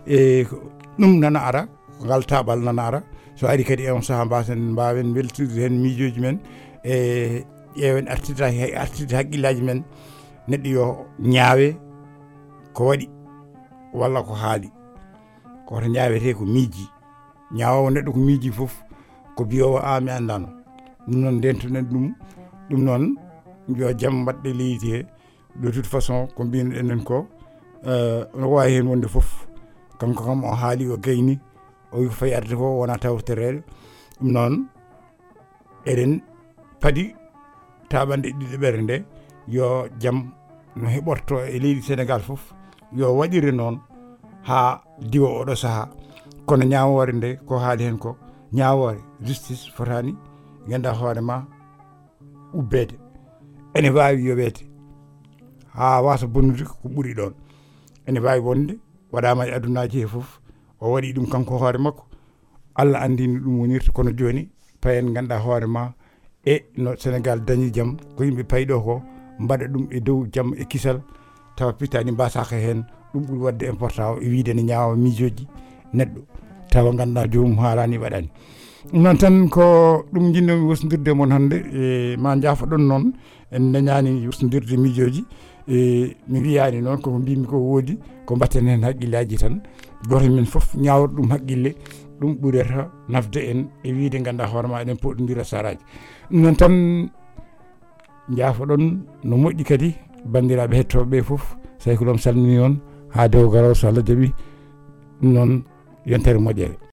ɗum nana ara ngal taɓal nana ara so ari kadi on saaha mbawen weltirde hen miijoji men ƴeewen artirde haqqillaji men neɗɗo yo ñaawe ko waɗi walla ko haali koto ñaawete ko miiji ñaawowo neɗɗo ko miiji foof ko biyowo mi andano ɗum noon ndentuɗen ɗum noon yo jaam mbaɗɗe leydi he de toute façon ko mbino ɗenen ko no wawi hen wonde foof kanko kam o haali o gayni o wi ko fayi arde ko wona tawtorede ɗum noon eɗen paadi taɓanɗe ɗiɗi ɓerde nde yo jaam no heɓorto e leydi Sénégal foof yo waɗire noon ha diwa oɗo saaha kono ñawore nde ko haali hen ko ñawore justice fotani ganduɗa hoore ma ubbede ene wawi yoɓede ha wasa bonnude ko ɓuuri ɗon ene wawi wonde waɗama e adunaji he foof o waɗi ɗum kanko hoore makko Allah andini ɗum wonirta kono joni payen ganduɗa hoore ma e no Sénégal dañi jaam ko yimɓe payɗo ko mbaɗa ɗum e dow jaam e kisal tawa pittani mbasaka hen ɗum ɓuuri wadde important e wiide ne ñaawa miijoji neɗɗo tawa ganduɗa jomum haalani waɗani ɗum noon tan ko ɗum jinnomi wosnodirde moon hannde ma jaafoɗon noon en dañani wosnodirde miijoji mi wiyani noon koko mbimi ko woodi ko mbatten hen haqqillaji tan goto men foof ñawata ɗum haqqille ɗum ɓurata nafde en e wiide ganduɗa hoore ma eɗen poɗodira saraji ɗum noon tan jaafoɗon no moƴƴi kadi bandiraɓe hettoɓe foof say ko ɗum salmini on ha dewo garaw so Allah jaaɓi ɗum noon yontere moƴƴere